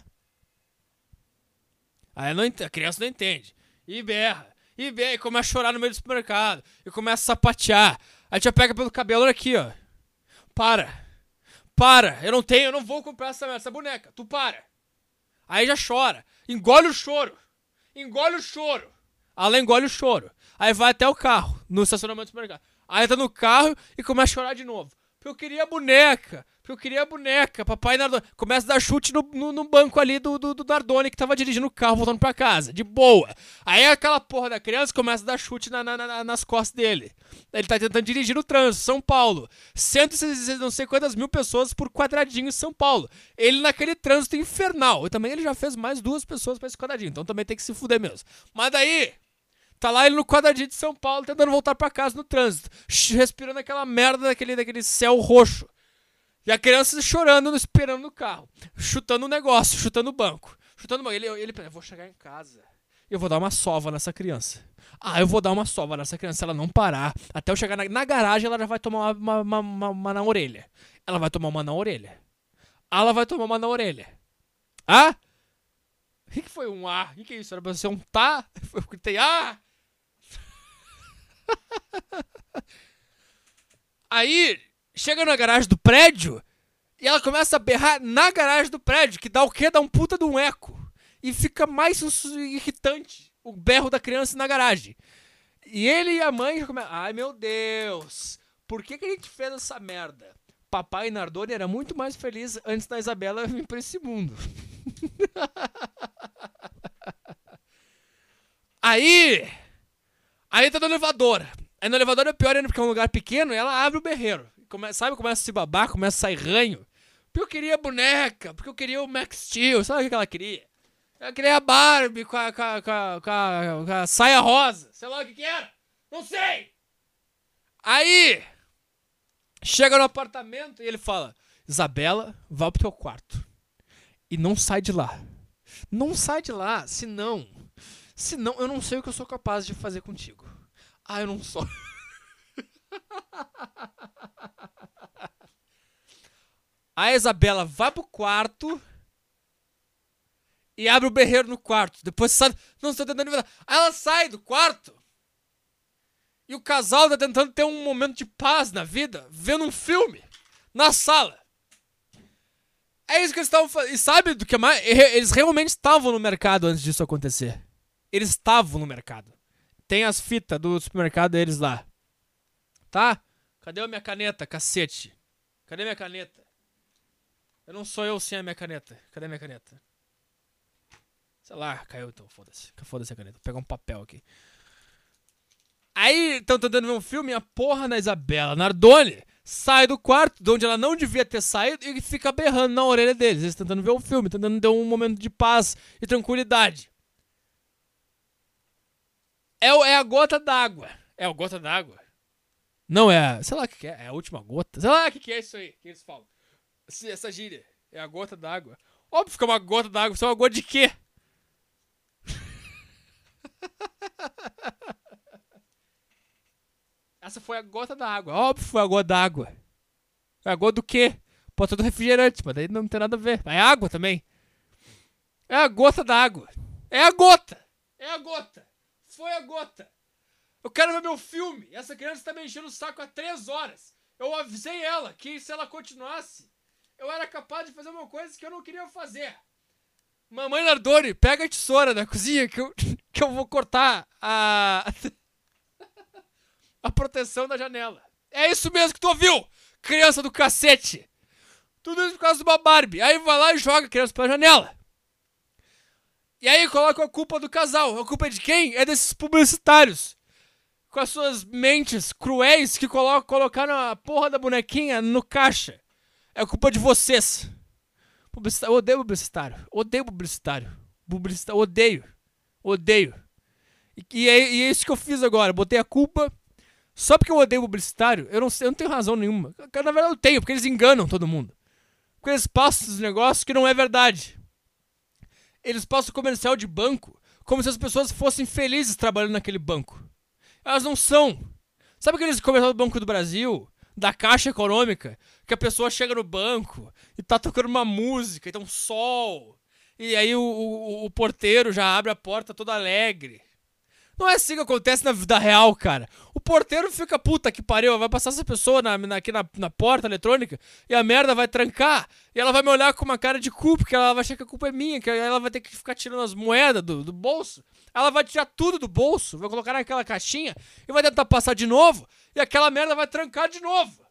Aí a criança não entende. E berra. E começa a chorar no meio do supermercado. E começa a sapatear. Aí já pega pelo cabelo, olha aqui, ó. Para, eu não vou comprar essa boneca. Tu para. Aí já chora. Engole o choro. Ela engole o choro. Aí vai até o carro, no estacionamento do supermercado. Aí entra no carro e começa a chorar de novo. Porque eu queria a boneca. Porque eu queria a boneca. Papai Nardone. Começa a dar chute no banco ali do Nardone que tava dirigindo o carro, voltando pra casa. De boa. Aí aquela porra da criança começa a dar chute nas costas dele. Ele tá tentando dirigir no trânsito, São Paulo. 160 não sei quantas mil pessoas por quadradinho em São Paulo. Ele naquele trânsito infernal. E também ele já fez mais 2 pessoas pra esse quadradinho. Então também tem que se fuder mesmo. Mas daí... Tá lá ele no quadradinho de São Paulo tentando voltar pra casa no trânsito. Respirando aquela merda daquele céu roxo. E a criança chorando, esperando no carro. Chutando o negócio, chutando o banco. Chutando o banco. Ele pensa, eu vou chegar em casa. Eu vou dar uma sova nessa criança. Eu vou dar uma sova nessa criança. Se ela não parar, até eu chegar na garagem, ela já vai tomar uma na orelha. Ela vai tomar uma na orelha. Ela vai tomar uma na orelha. O que foi um A? O que é isso? Era pra ser um tá? Eu gritei, Aí, chega na garagem do prédio e ela começa a berrar na garagem do prédio, que dá o quê? Dá um puta de um eco. E fica mais irritante o berro da criança na garagem. E ele e a mãe já começam, ai meu Deus, por que a gente fez essa merda? Papai Nardone era muito mais feliz antes da Isabela vir pra esse mundo. Aí tá no elevador. Aí no elevador é pior ainda porque é um lugar pequeno e ela abre o berreiro. Começa a se babar, começa a sair ranho. Porque eu queria boneca, porque eu queria o Max Steel. Sabe o que ela queria? Ela queria a Barbie com a saia rosa. Sei lá o que era. Não sei. Aí chega no apartamento e ele fala, Isabela, vá pro teu quarto. E não sai de lá. Não sai de lá, senão eu não sei o que eu sou capaz de fazer contigo. Eu não sou. A Isabela vai pro quarto e abre o berreiro no quarto. Depois sai. Não, estou tentando envenenar. Aí ela sai do quarto e o casal tá tentando ter um momento de paz na vida, vendo um filme na sala. É isso que eles estavam fazendo. E sabe do que mais? Eles realmente estavam no mercado antes disso acontecer. Eles estavam no mercado. Tem as fitas do supermercado deles lá. Tá? Cadê a minha caneta, cacete? Cadê minha caneta? Eu não sou eu sem a minha caneta. Cadê minha caneta? Sei lá, caiu então, foda-se. Foda-se a caneta. Vou pegar um papel aqui. Aí, estão tentando ver um filme e a porra da Isabela Nardone sai do quarto, de onde ela não devia ter saído, e fica berrando na orelha deles. Eles tentando ver o filme, tentando ter um momento de paz e tranquilidade. É a gota d'água. É a gota d'água? Não, sei lá o que é. É a última gota? Sei lá o que é isso aí que eles falam. Essa gíria. É a gota d'água. Óbvio que é uma gota d'água. Isso é uma gota de quê? Essa foi a gota d'água. Óbvio que foi a gota d'água. É a gota do quê? Pode ser do refrigerante, mas daí não tem nada a ver. É água também. É a gota d'água. É a gota. É a gota. Foi a gota. Eu quero ver meu filme. Essa criança tá me enchendo o saco há 3 horas. Eu avisei ela que se ela continuasse, eu era capaz de fazer uma coisa que eu não queria fazer. Mamãe Nardone, pega a tesoura da cozinha que eu vou cortar a proteção da janela. É isso mesmo que tu ouviu, criança do cacete. Tudo isso por causa de uma Barbie. Aí vai lá e joga a criança pela janela. E aí coloca a culpa do casal. A culpa é de quem? É desses publicitários. Com as suas mentes cruéis que colocaram a porra da bonequinha no caixa. É culpa de vocês. Eu odeio publicitário. Odeio publicitário. Odeio. E é isso que eu fiz agora. Botei a culpa. Só porque eu odeio publicitário, eu não tenho razão nenhuma. Na verdade eu tenho, porque eles enganam todo mundo. Porque eles passam os negócios que não é verdade. Eles passam o comercial de banco como se as pessoas fossem felizes trabalhando naquele banco. Elas não são. Sabe aqueles comerciais do Banco do Brasil, da Caixa Econômica, que a pessoa chega no banco e tá tocando uma música, e tá um sol, e aí o porteiro já abre a porta todo alegre. Não é assim que acontece na vida real, cara. O porteiro fica, puta que pariu, vai passar essa pessoa aqui na porta eletrônica e a merda vai trancar. E ela vai me olhar com uma cara de cu, porque ela vai achar que a culpa é minha, que ela vai ter que ficar tirando as moedas do bolso. Ela vai tirar tudo do bolso, vai colocar naquela caixinha e vai tentar passar de novo. E aquela merda vai trancar de novo.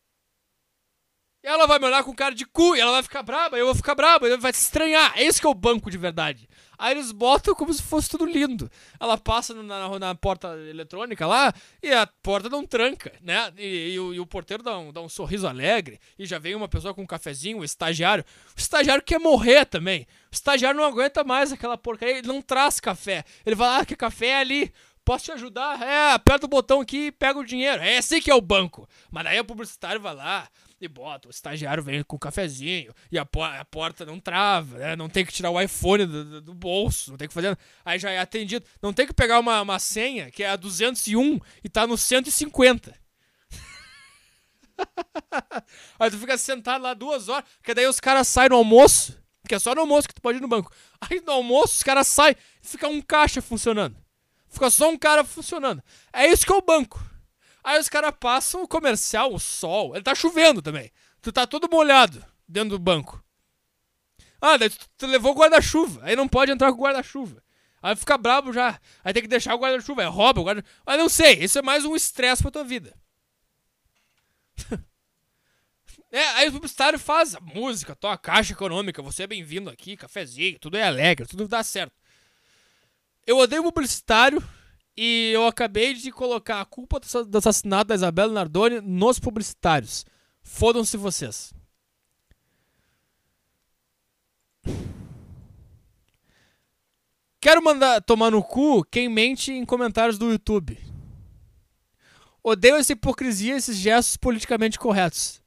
E ela vai me olhar com cara de cu, e ela vai ficar braba, eu vou ficar braba, ele vai se estranhar. É esse que é o banco de verdade. Aí eles botam como se fosse tudo lindo. Ela passa na porta eletrônica lá, e a porta não tranca, né? E o porteiro dá um sorriso alegre, e já vem uma pessoa com um cafezinho, o estagiário. O estagiário quer morrer também. O estagiário não aguenta mais aquela porcaria, ele não traz café. Ele fala, que café é ali. Posso te ajudar? Aperta o botão aqui e pega o dinheiro. É assim que é o banco. Mas daí o publicitário vai lá e bota. O estagiário vem com o cafezinho e a porta não trava, né? Não tem que tirar o iPhone do bolso. Não tem que fazer. Aí já é atendido. Não tem que pegar uma senha que é a 201 e tá no 150. Aí tu fica sentado lá 2 horas. Porque daí os caras saem no almoço. Porque é só no almoço que tu pode ir no banco. Aí no almoço os caras saem e fica um caixa funcionando. Fica só um cara funcionando. É isso que é o banco. Aí os caras passam o comercial, o sol. Ele tá chovendo também. Tu tá todo molhado dentro do banco. Daí tu levou o guarda-chuva. Aí não pode entrar com o guarda-chuva. Aí fica brabo já. Aí tem que deixar o guarda-chuva. Aí rouba o guarda-chuva. Mas não sei. Isso é mais um estresse pra tua vida. Aí o publicitário faz a música, toca a caixa econômica. Você é bem-vindo aqui, cafezinho. Tudo é alegre, tudo dá certo. Eu odeio publicitário e eu acabei de colocar a culpa do assassinato da Isabela Nardoni nos publicitários. Fodam-se vocês. Quero mandar tomar no cu quem mente em comentários do YouTube. Odeio essa hipocrisia e esses gestos politicamente corretos.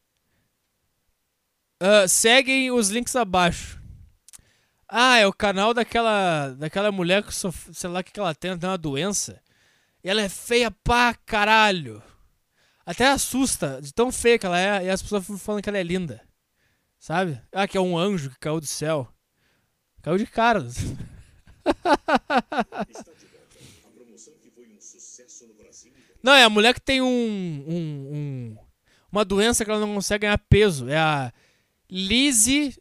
Seguem os links abaixo. É o canal daquela mulher que sei lá o que ela tem uma doença. E ela é feia pra caralho. Até assusta de tão feia que ela é. E as pessoas falam que ela é linda. Sabe? Que é um anjo que caiu do céu. Caiu de cara. Não, é a mulher que tem uma doença que ela não consegue ganhar peso. É a Lizzie,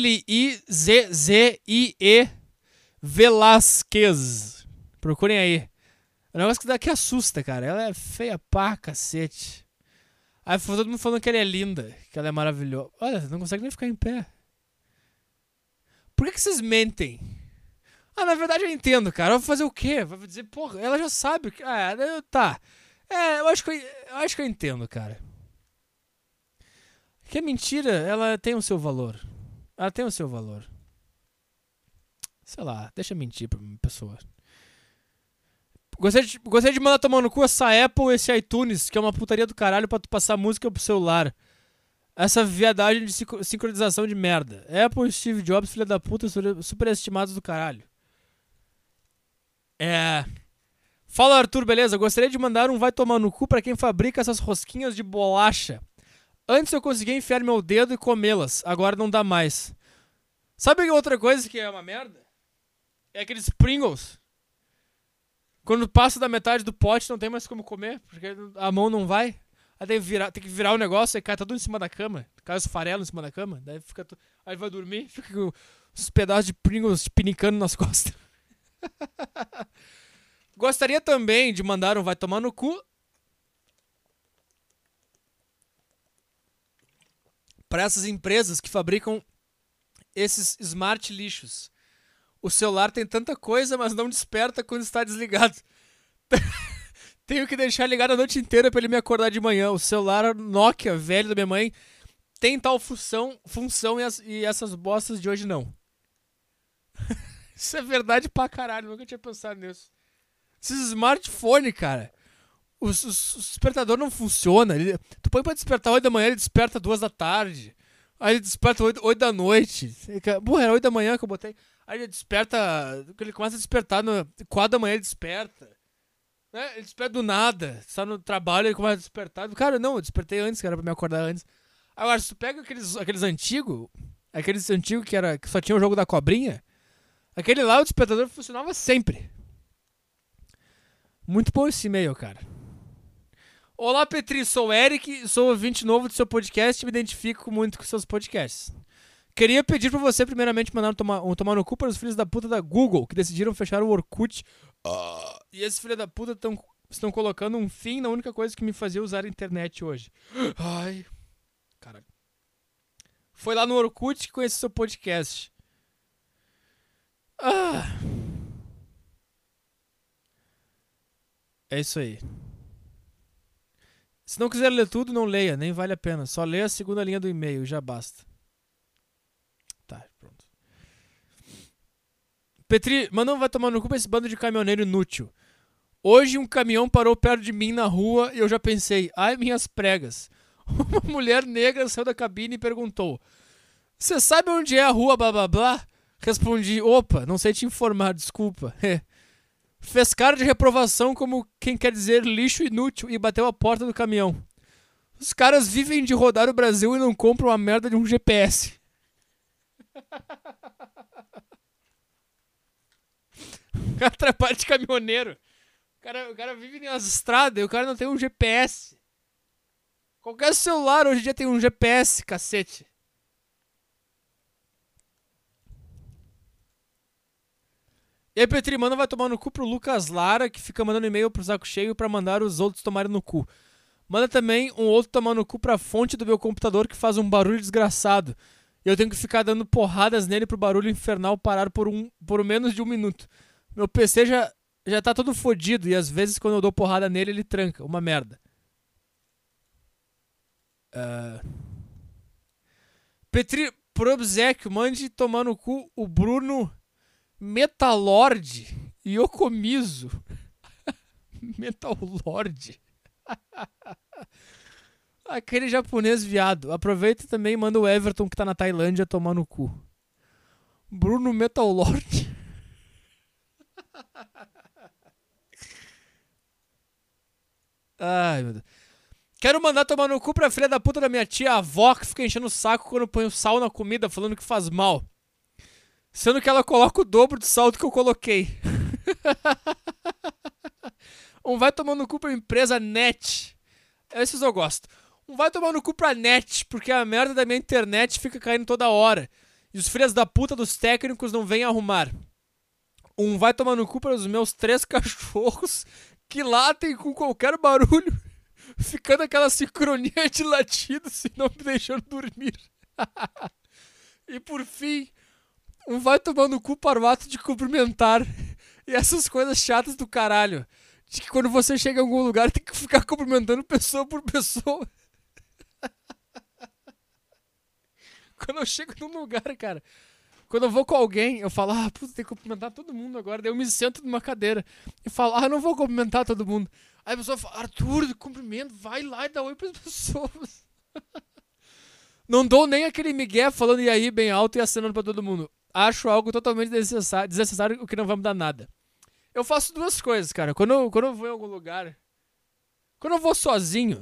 L-I-Z-Z-I-E Velasquez. Procurem aí. É um negócio que daqui assusta, cara. Ela é feia pra cacete. Aí todo mundo falando que ela é linda, que ela é maravilhosa. Olha, não consegue nem ficar em pé. Por que vocês mentem? Na verdade eu entendo, cara. Eu vou fazer o quê? Vou dizer, porra, ela já sabe. Tá. Eu acho que eu entendo, cara. Que a mentira, ela tem o seu valor. Ela tem o seu valor. Sei lá, deixa mentir pra uma pessoa. Gostaria de mandar tomar no cu essa Apple, esse iTunes, que é uma putaria do caralho pra tu passar música pro celular. Essa viadagem de sincronização de merda. Apple e Steve Jobs, filha da puta, superestimados do caralho. Fala, Arthur, beleza? Gostaria de mandar um vai tomar no cu pra quem fabrica essas rosquinhas de bolacha. Antes eu conseguia enfiar meu dedo e comê-las, agora não dá mais. Sabe outra coisa que é uma merda? É aqueles Pringles. Quando passa da metade do pote não tem mais como comer, porque a mão não vai. Aí tem que virar o negócio e cai tudo em cima da cama. Cai os farelos em cima da cama. Daí aí vai dormir, fica com os pedaços de Pringles pinicando nas costas. Gostaria também de mandar um vai tomar no cu para essas empresas que fabricam esses smart lixos. O celular tem tanta coisa, mas não desperta quando está desligado. Tenho que deixar ligado a noite inteira para ele me acordar de manhã. O celular Nokia velho da minha mãe tem tal função e essas bostas de hoje não. Isso é verdade pra caralho, nunca tinha pensado nisso. Esses smartphones, cara, o despertador não funciona. Tu põe pra despertar 8 da manhã, ele desperta 2 da tarde. Aí ele desperta 8 da noite. Porra, era 8 da manhã que eu botei. Aí ele desperta, ele começa a despertar no 4 da manhã, ele desperta. Né? Ele desperta do nada. Está no trabalho, ele começa a despertar. Cara, não, eu despertei antes, cara, pra me acordar antes. Agora, se tu pega aqueles antigos que só tinha o jogo da cobrinha, aquele lá, o despertador funcionava sempre. Muito bom esse e-mail, cara. Olá, Petri, sou o Eric, sou ouvinte novo do seu podcast e me identifico muito com seus podcasts. Queria pedir pra você, primeiramente, mandar tomar no cu para os filhos da puta da Google, que decidiram fechar o Orkut. E esses filhos da puta estão colocando um fim na única coisa que me fazia usar a internet hoje. Ai, caralho. Foi lá no Orkut que conheci seu podcast. É isso aí. Se não quiser ler tudo, não leia, nem vale a pena. Só leia a segunda linha do e-mail, já basta. Tá, pronto. Petri, mas não vai tomar no cu pra esse bando de caminhoneiro inútil. Hoje um caminhão parou perto de mim na rua e eu já pensei, ai minhas pregas. Uma mulher negra saiu da cabine e perguntou, você sabe onde é a rua blá blá blá? Respondi, opa, não sei te informar, desculpa. Fez cara de reprovação como quem quer dizer lixo inútil e bateu a porta do caminhão. Os caras vivem de rodar o Brasil e não compram a merda de um GPS. O cara trabalha de caminhoneiro. O cara vive nas estradas e o cara não tem um GPS. Qualquer celular hoje em dia tem um GPS, cacete. E aí, Petri, manda vai tomar no cu pro Lucas Lara, que fica mandando e-mail pro saco cheio pra mandar os outros tomarem no cu. Manda também um outro tomar no cu pra fonte do meu computador que faz um barulho desgraçado. E eu tenho que ficar dando porradas nele pro barulho infernal parar por menos de 1 minuto. Meu PC já tá todo fodido e às vezes quando eu dou porrada nele ele tranca. Uma merda. Petri, por obséquio, mande tomar no cu o Bruno Metalord Yokomizo. Metalord. Aquele japonês viado. Aproveita também e manda o Everton que tá na Tailândia tomar no cu. Bruno Metalord. Ai, meu Deus. Quero mandar tomar no cu pra filha da puta da minha tia avó que fica enchendo o saco quando põe o sal na comida, falando que faz mal. Sendo que ela coloca o dobro do sal do que eu coloquei. Vai tomar no cu pra empresa Net. Esses eu gosto. Vai tomar no cu pra Net, porque a merda da minha internet fica caindo toda hora. E os filhos da puta dos técnicos não vêm arrumar. Vai tomar no cu para os meus 3 cachorros que latem com qualquer barulho, ficando aquela sincronia de latidos e não me deixando dormir. E por fim, vai tomar no cu para o ato de cumprimentar. E essas coisas chatas do caralho. De que quando você chega em algum lugar tem que ficar cumprimentando pessoa por pessoa. Quando eu chego num lugar, cara, quando eu vou com alguém, eu falo, puta, tem que cumprimentar todo mundo agora. Daí eu me sento numa cadeira e falo, eu não vou cumprimentar todo mundo. Aí a pessoa fala, Arthur, cumprimento, vai lá e dá oi pras pessoas. Não dou nem aquele migué falando e aí bem alto e acenando pra todo mundo. Acho algo totalmente desnecessário, o que não vai mudar nada. Eu faço 2 coisas, cara. Quando eu vou em algum lugar, quando eu vou sozinho,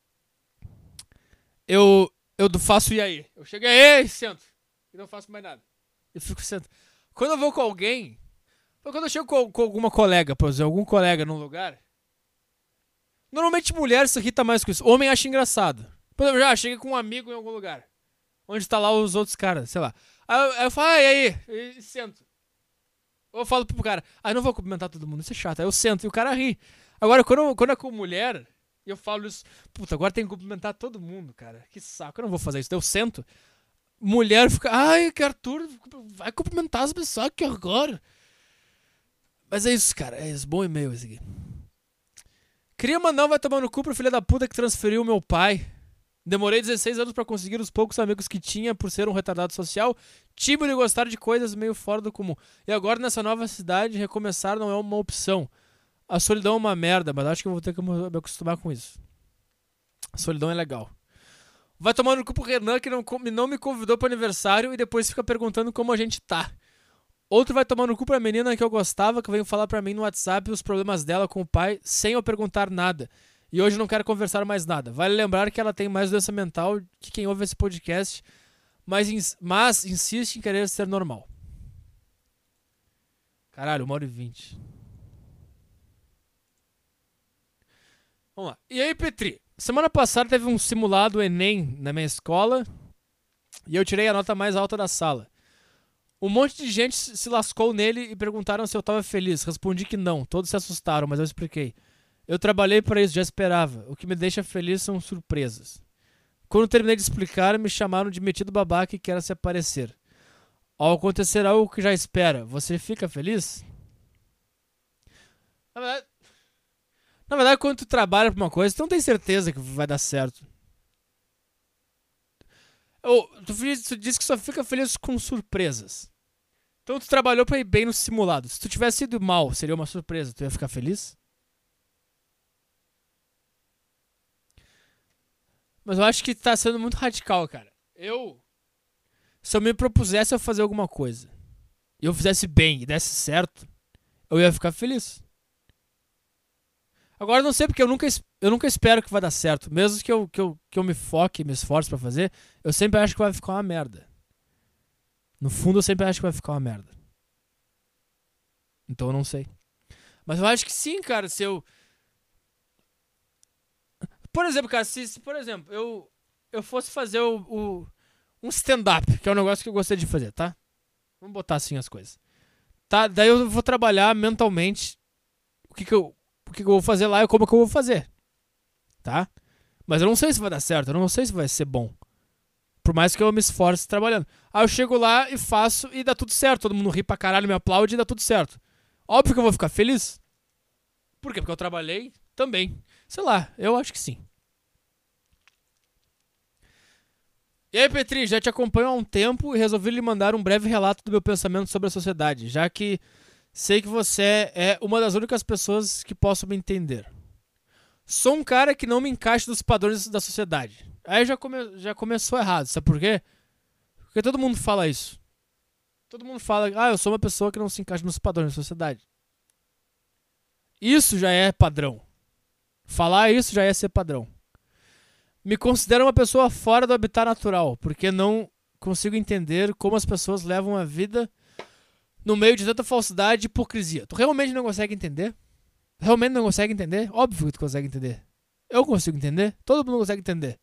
eu faço e aí. Eu chego e sento. E não faço mais nada. Eu fico sentado. Quando eu vou com alguém, quando eu chego com alguma colega, por exemplo, algum colega num lugar, normalmente mulher se irrita mais com isso. Homem acha engraçado. Por exemplo, já cheguei com um amigo em algum lugar, onde tá lá os outros caras, sei lá. Aí eu falo, e aí? E sento. Ou eu falo pro cara, não vou cumprimentar todo mundo, isso é chato. Aí eu sento e o cara ri. Agora, quando é com mulher, eu falo isso, puta, agora tem que cumprimentar todo mundo, cara. Que saco, eu não vou fazer isso. Daí eu sento. Mulher fica, que Arthur, vai cumprimentar as pessoas, que horror. Mas é isso, cara, é isso, bom e-mail esse aqui. Queria mandar vai tomar no cu pro filho da puta que transferiu o meu pai. Demorei 16 anos pra conseguir os poucos amigos que tinha por ser um retardado social, tímido e gostar de coisas meio fora do comum. E agora nessa nova cidade, recomeçar não é uma opção. A solidão é uma merda, mas acho que eu vou ter que me acostumar com isso. A solidão é legal. Vai tomar no cu pro Renan que não me convidou pro aniversário e depois fica perguntando como a gente tá. Outro vai tomar no cu pra menina que eu gostava, que veio falar pra mim no WhatsApp os problemas dela com o pai sem eu perguntar nada. E hoje não quero conversar mais nada. Vale lembrar que ela tem mais doença mental que quem ouve esse podcast, mas insiste em querer ser normal. Caralho, 1h20. Vamos lá. E aí, Petri? Semana passada teve um simulado Enem na minha escola e eu tirei a nota mais alta da sala. Um monte de gente se lascou nele e perguntaram se eu tava feliz. Respondi que não. Todos se assustaram, mas eu expliquei. Eu trabalhei para isso, já esperava. O que me deixa feliz são surpresas. Quando terminei de explicar, me chamaram de metido babaca e quer se aparecer. Ao acontecer algo que já espera, você fica feliz? Na verdade, quando tu trabalha pra uma coisa, tu não tem certeza que vai dar certo. Tu disse que só fica feliz com surpresas. Então tu trabalhou pra ir bem no simulado. Se tu tivesse ido mal, seria uma surpresa. Tu ia ficar feliz? Mas eu acho que tá sendo muito radical, cara. Se eu me propusesse a fazer alguma coisa e eu fizesse bem e desse certo, eu ia ficar feliz. Agora eu não sei porque eu nunca espero que vai dar certo. Mesmo que eu me foque e me esforce pra fazer, eu sempre acho que vai ficar uma merda. No fundo eu sempre acho que vai ficar uma merda. Então eu não sei. Mas eu acho que sim, cara, se eu... Por exemplo, cara, se por exemplo, eu fosse fazer um stand-up, que é um negócio que eu gostaria de fazer, tá? Vamos botar assim as coisas. Tá? Daí eu vou trabalhar mentalmente o que eu vou fazer lá e como que eu vou fazer. Tá? Mas eu não sei se vai dar certo, eu não sei se vai ser bom. Por mais que eu me esforce trabalhando. Aí eu chego lá e faço e dá tudo certo. Todo mundo ri pra caralho, me aplaude e dá tudo certo. Óbvio que eu vou ficar feliz. Por quê? Porque eu trabalhei também. Sei lá, eu acho que sim. E aí, Petri, já te acompanho há um tempo e resolvi lhe mandar um breve relato do meu pensamento sobre a sociedade, já que sei que você é uma das únicas pessoas que possam me entender. Sou um cara que não me encaixa nos padrões da sociedade. Aí já começou errado, sabe por quê? Porque todo mundo fala isso. Todo mundo fala, eu sou uma pessoa que não se encaixa nos padrões da sociedade. Isso já é padrão. Falar isso já é ser padrão. Me considero uma pessoa fora do habitat natural, porque não consigo entender como as pessoas levam a vida no meio de tanta falsidade e hipocrisia. Tu realmente não consegue entender? Realmente não consegue entender? Óbvio que tu consegue entender. Eu consigo entender? Todo mundo consegue entender.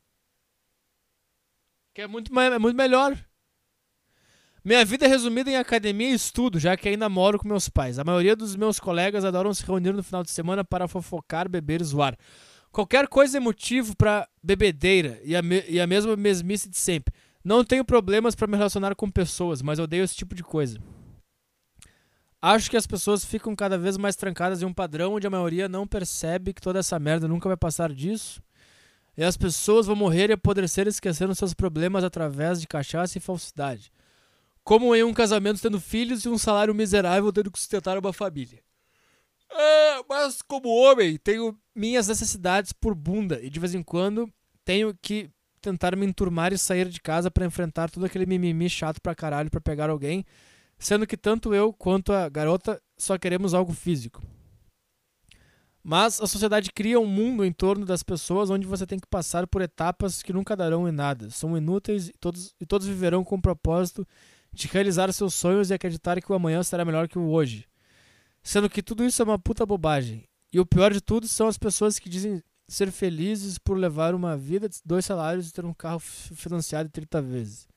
Que é muito melhor. Minha vida é resumida em academia e estudo, já que ainda moro com meus pais. A maioria dos meus colegas adoram se reunir no final de semana para fofocar, beber e zoar. Qualquer coisa é motivo para bebedeira e a mesma mesmice de sempre. Não tenho problemas para me relacionar com pessoas, mas odeio esse tipo de coisa. Acho que as pessoas ficam cada vez mais trancadas em um padrão onde a maioria não percebe que toda essa merda nunca vai passar disso. E as pessoas vão morrer e apodrecer esquecendo seus problemas através de cachaça e falsidade. Como em um casamento tendo filhos e um salário miserável tendo que sustentar uma família. Mas como homem, tenho minhas necessidades por bunda e de vez em quando tenho que tentar me enturmar e sair de casa para enfrentar todo aquele mimimi chato pra caralho pra pegar alguém, sendo que tanto eu quanto a garota só queremos algo físico. Mas a sociedade cria um mundo em torno das pessoas onde você tem que passar por etapas que nunca darão em nada, são inúteis e todos viverão com o propósito de realizar seus sonhos e acreditar que o amanhã será melhor que o hoje. Sendo que tudo isso é uma puta bobagem. E o pior de tudo são as pessoas que dizem ser felizes por levar uma vida de 2 salários e ter um carro financiado 30 vezes.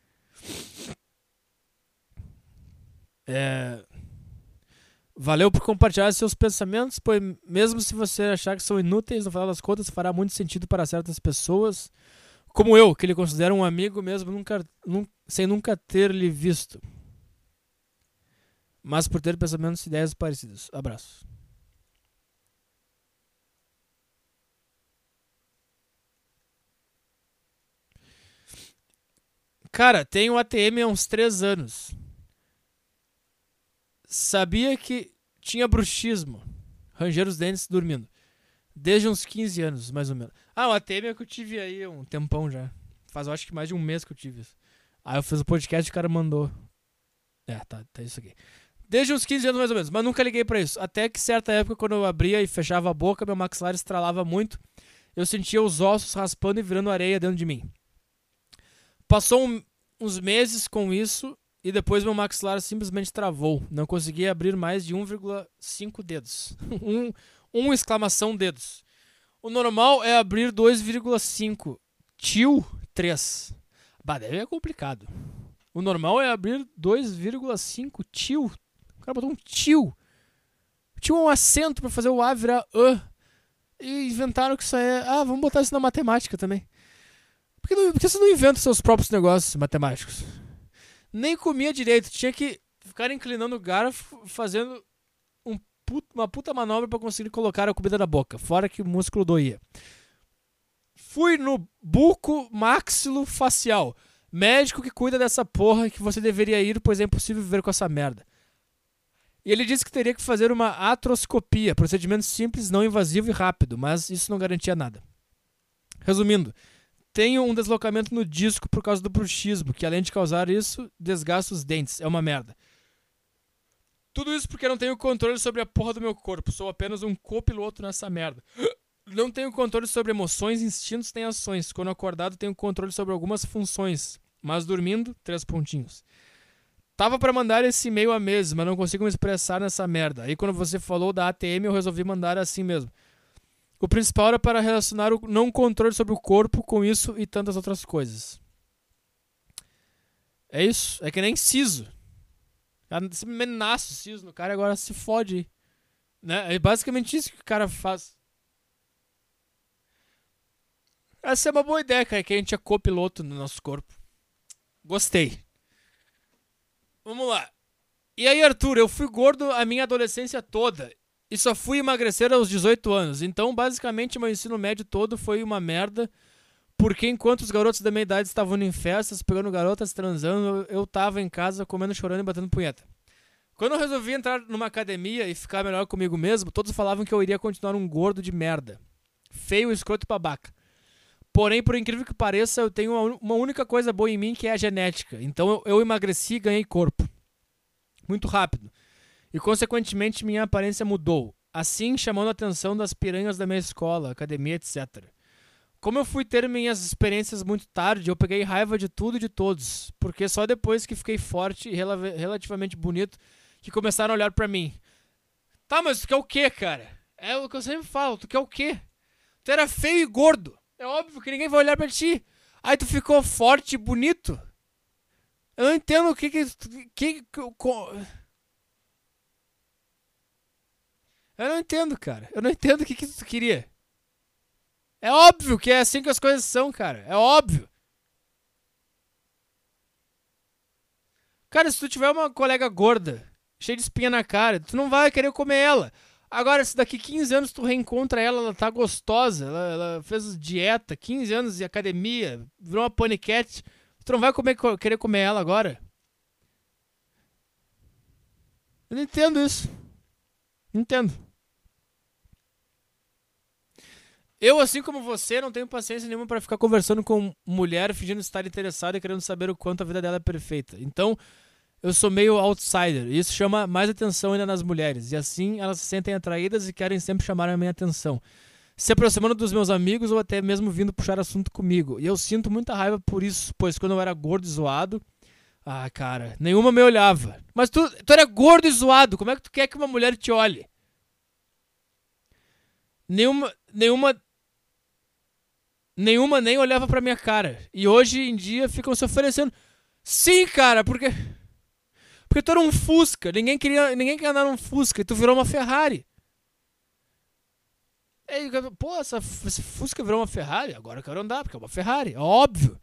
Valeu por compartilhar seus pensamentos, pois mesmo se você achar que são inúteis, no final das contas fará muito sentido para certas pessoas, como eu, que lhe considero um amigo mesmo sem nunca ter lhe visto. Mas por ter pensamentos e ideias parecidos. Abraço. Cara, tenho ATM há uns 3 anos. Sabia que tinha bruxismo. Ranger os dentes dormindo. Desde uns 15 anos, mais ou menos. O ATM é que eu tive aí um tempão já. Faz, eu acho que mais de um mês que eu tive isso. Aí eu fiz o podcast e o cara mandou. Tá isso aqui. Desde uns 15 anos mais ou menos, mas nunca liguei pra isso. Até que certa época, quando eu abria e fechava a boca, meu maxilar estralava muito. Eu sentia os ossos raspando e virando areia dentro de mim. Passou uns meses com isso e depois meu maxilar simplesmente travou. Não conseguia abrir mais de 1,5 dedos. um exclamação dedos. O normal é abrir 2,5. Tio 3. Bah, deve é complicado. O normal é abrir 2,5 tio. O cara botou um tio. Tio é um acento pra fazer o A virar A. E inventaram que isso aí é... Ah, vamos botar isso na matemática também. Por que você não inventa seus próprios negócios matemáticos? Nem comia direito. Tinha que ficar inclinando o garfo, fazendo uma puta manobra pra conseguir colocar a comida na boca. Fora que o músculo doía. Fui no buco maxilo facial. Médico que cuida dessa porra que você deveria ir, pois é impossível viver com essa merda. E ele disse que teria que fazer uma atroscopia, procedimento simples, não invasivo e rápido, mas isso não garantia nada. Resumindo, tenho um deslocamento no disco por causa do bruxismo, que além de causar isso, desgasta os dentes. É uma merda. Tudo isso porque eu não tenho controle sobre a porra do meu corpo. Sou apenas um copiloto nessa merda. Não tenho controle sobre emoções, instintos nem ações. Quando acordado, tenho controle sobre algumas funções. Mas dormindo, 3 pontinhos. Tava pra mandar esse e-mail há meses, mas não consigo me expressar nessa merda. Aí quando você falou da ATM, eu resolvi mandar assim mesmo. O principal era para relacionar o não controle sobre o corpo com isso e tantas outras coisas. É isso. É que nem siso. Simplesmente nasce o siso no cara e agora se fode aí. Né? É basicamente isso que o cara faz. Essa é uma boa ideia, cara, que a gente é copiloto no nosso corpo. Gostei. Vamos lá. E aí, Arthur, eu fui gordo a minha adolescência toda e só fui emagrecer aos 18 anos. Então, basicamente, meu ensino médio todo foi uma merda, porque enquanto os garotos da minha idade estavam em festas, pegando garotas, transando, eu tava em casa comendo, chorando e batendo punheta. Quando eu resolvi entrar numa academia e ficar melhor comigo mesmo, todos falavam que eu iria continuar um gordo de merda. Feio, escroto e babaca. Porém, por incrível que pareça, eu tenho uma única coisa boa em mim, que é a genética. Então eu emagreci e ganhei corpo. Muito rápido. E, consequentemente, minha aparência mudou. Assim, chamando a atenção das piranhas da minha escola, academia, etc. Como eu fui ter minhas experiências muito tarde, eu peguei raiva de tudo e de todos. Porque só depois que fiquei forte e relativamente bonito, que começaram a olhar pra mim. Tá, mas tu quer o quê, cara? É o que eu sempre falo, tu quer o quê? Tu era feio e gordo. É óbvio que ninguém vai olhar pra ti. Aí tu ficou forte e bonito. Eu não entendo o que eu não entendo, cara. Eu não entendo o que tu queria. É óbvio que é assim que as coisas são, cara. É óbvio. Cara, se tu tiver uma colega gorda, cheia de espinha na cara, tu não vai querer comer ela. Agora, se daqui 15 anos tu reencontra ela, ela tá gostosa, ela fez dieta, 15 anos de academia, virou uma paniquete, tu não vai querer comer ela agora? Eu não entendo isso. Não entendo. Eu, assim como você, não tenho paciência nenhuma pra ficar conversando com mulher, fingindo estar interessado e querendo saber o quanto a vida dela é perfeita. Então, eu sou meio outsider, e isso chama mais atenção ainda nas mulheres. E assim, elas se sentem atraídas e querem sempre chamar a minha atenção, se aproximando dos meus amigos ou até mesmo vindo puxar assunto comigo. E eu sinto muita raiva por isso, pois quando eu era gordo e zoado... Ah, cara, nenhuma me olhava. Mas tu era gordo e zoado, como é que tu quer que uma mulher te olhe? Nenhuma nem olhava pra minha cara. E hoje em dia ficam se oferecendo. Sim, cara, porque tu era um Fusca. Ninguém queria andar num Fusca e tu virou uma Ferrari. Aí, pô, esse Fusca virou uma Ferrari? Agora eu quero andar, porque é uma Ferrari. É óbvio.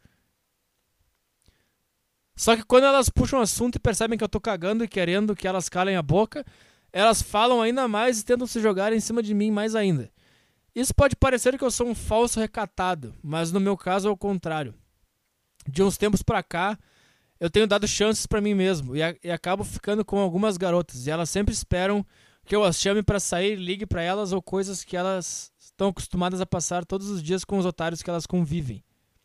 Só que quando elas puxam o assunto e percebem que eu tô cagando e querendo que elas calem a boca, elas falam ainda mais e tentam se jogar em cima de mim mais ainda. Isso pode parecer que eu sou um falso recatado, mas no meu caso é o contrário. De uns tempos pra cá, eu tenho dado chances pra mim mesmo e acabo ficando com algumas garotas, e elas sempre esperam que eu as chame pra sair, ligue pra elas ou coisas que elas estão acostumadas a passar todos os dias com os otários que elas convivem.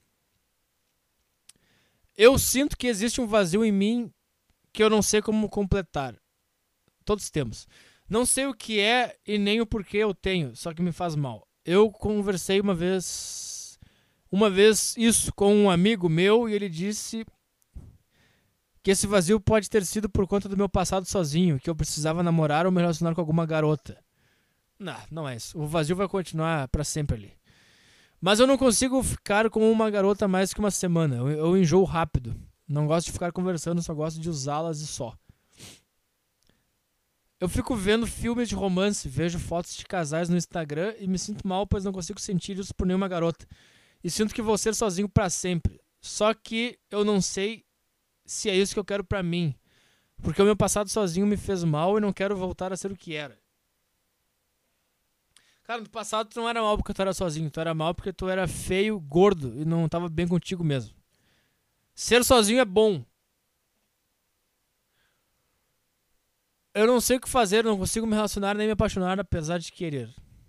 Eu sinto que existe um vazio em mim que eu não sei como completar. Todos temos. Não sei o que é e nem o porquê eu tenho, só que me faz mal. Eu conversei uma vez isso com um amigo meu e ele disse que esse vazio pode ter sido por conta do meu passado sozinho, que eu precisava namorar ou me relacionar com alguma garota. Não é isso. O vazio vai continuar pra sempre ali. Mas eu não consigo ficar com uma garota mais que uma semana. Eu enjoo rápido. Não gosto de ficar conversando, só gosto de usá-las e só. Eu fico vendo filmes de romance, vejo fotos de casais no Instagram e me sinto mal, pois não consigo sentir isso por nenhuma garota. E sinto que vou ser sozinho pra sempre. Só que eu não sei se é isso que eu quero pra mim. Porque o meu passado sozinho me fez mal e não quero voltar a ser o que era. Cara, no passado tu não era mal porque tu era sozinho. Tu era mal porque tu era feio, gordo e não tava bem contigo mesmo. Ser sozinho é bom. Eu não sei o que fazer, não consigo me relacionar nem me apaixonar apesar de querer.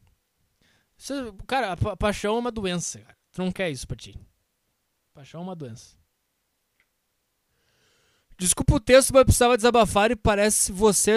Cara, a paixão é uma doença, cara. Tu não quer isso pra ti. Paixão é uma doença. Desculpa o texto, mas eu precisava desabafar e parece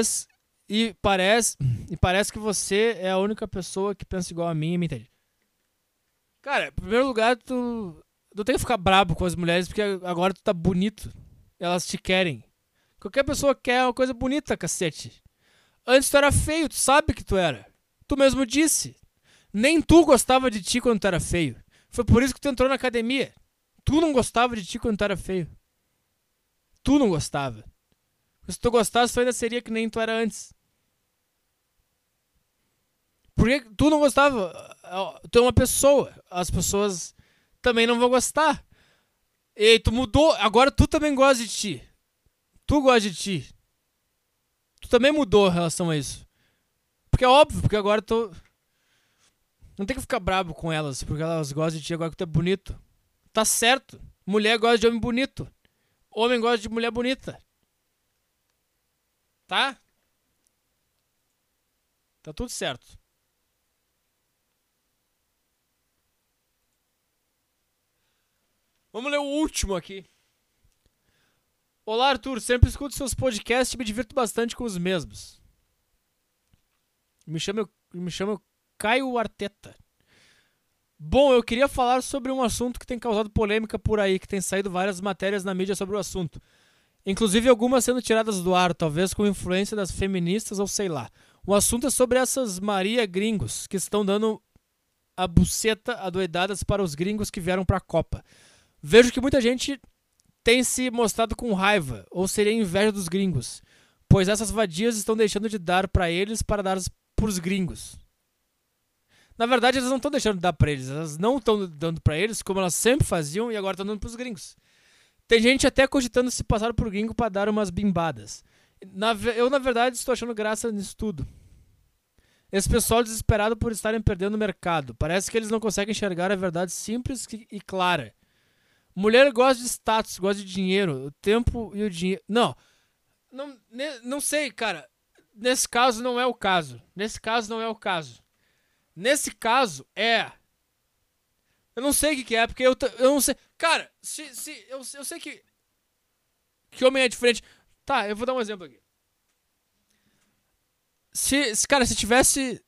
que você é a única pessoa que pensa igual a mim e me entende. Cara, em primeiro lugar, tu tem que ficar brabo com as mulheres porque agora tu tá bonito. Elas te querem. Qualquer pessoa quer uma coisa bonita, cacete. Antes tu era feio, tu sabe que tu era. Tu mesmo disse. Nem tu gostava de ti quando tu era feio. Foi por isso que tu entrou na academia. Tu não gostava de ti quando tu era feio. Tu não gostava. Se tu gostasse, tu ainda seria que nem tu era antes. Porque tu não gostava. Tu é uma pessoa. As pessoas também não vão gostar. E tu mudou. Agora tu também gosta de ti. Tu gosta de ti. Tu também mudou em relação a isso. Porque é óbvio, porque agora tu... Não tem que ficar bravo com elas, porque elas gostam de ti agora que tu é bonito. Tá certo. Mulher gosta de homem bonito. Homem gosta de mulher bonita. Tá? Tá tudo certo. Vamos ler o último aqui. Olá, Arthur. Sempre escuto seus podcasts e me divirto bastante com os mesmos. Me chamo Caio Arteta. Bom, eu queria falar sobre um assunto que tem causado polêmica por aí, que tem saído várias matérias na mídia sobre o assunto. Inclusive algumas sendo tiradas do ar, talvez com influência das feministas ou sei lá. O assunto é sobre essas Maria gringos que estão dando a buceta adoidadas para os gringos que vieram para a Copa. Vejo que muita gente tem se mostrado com raiva, ou seria inveja dos gringos, pois essas vadias estão deixando de dar para eles para dar para os gringos. Na verdade, elas não estão deixando de dar pra eles. Elas não estão dando pra eles como elas sempre faziam e agora estão dando pros gringos. Tem gente até cogitando se passar por gringo pra dar umas bimbadas. Eu, na verdade, estou achando graça nisso tudo. Esse pessoal desesperado por estarem perdendo o mercado. Parece que eles não conseguem enxergar a verdade simples e clara. Mulher gosta de status, gosta de dinheiro. O tempo e o dinheiro... Não sei, cara. Nesse caso não é o caso. Nesse caso, eu não sei o que é, porque eu não sei. Cara, eu sei que homem é diferente. Tá, eu vou dar um exemplo aqui. Cara, se tivesse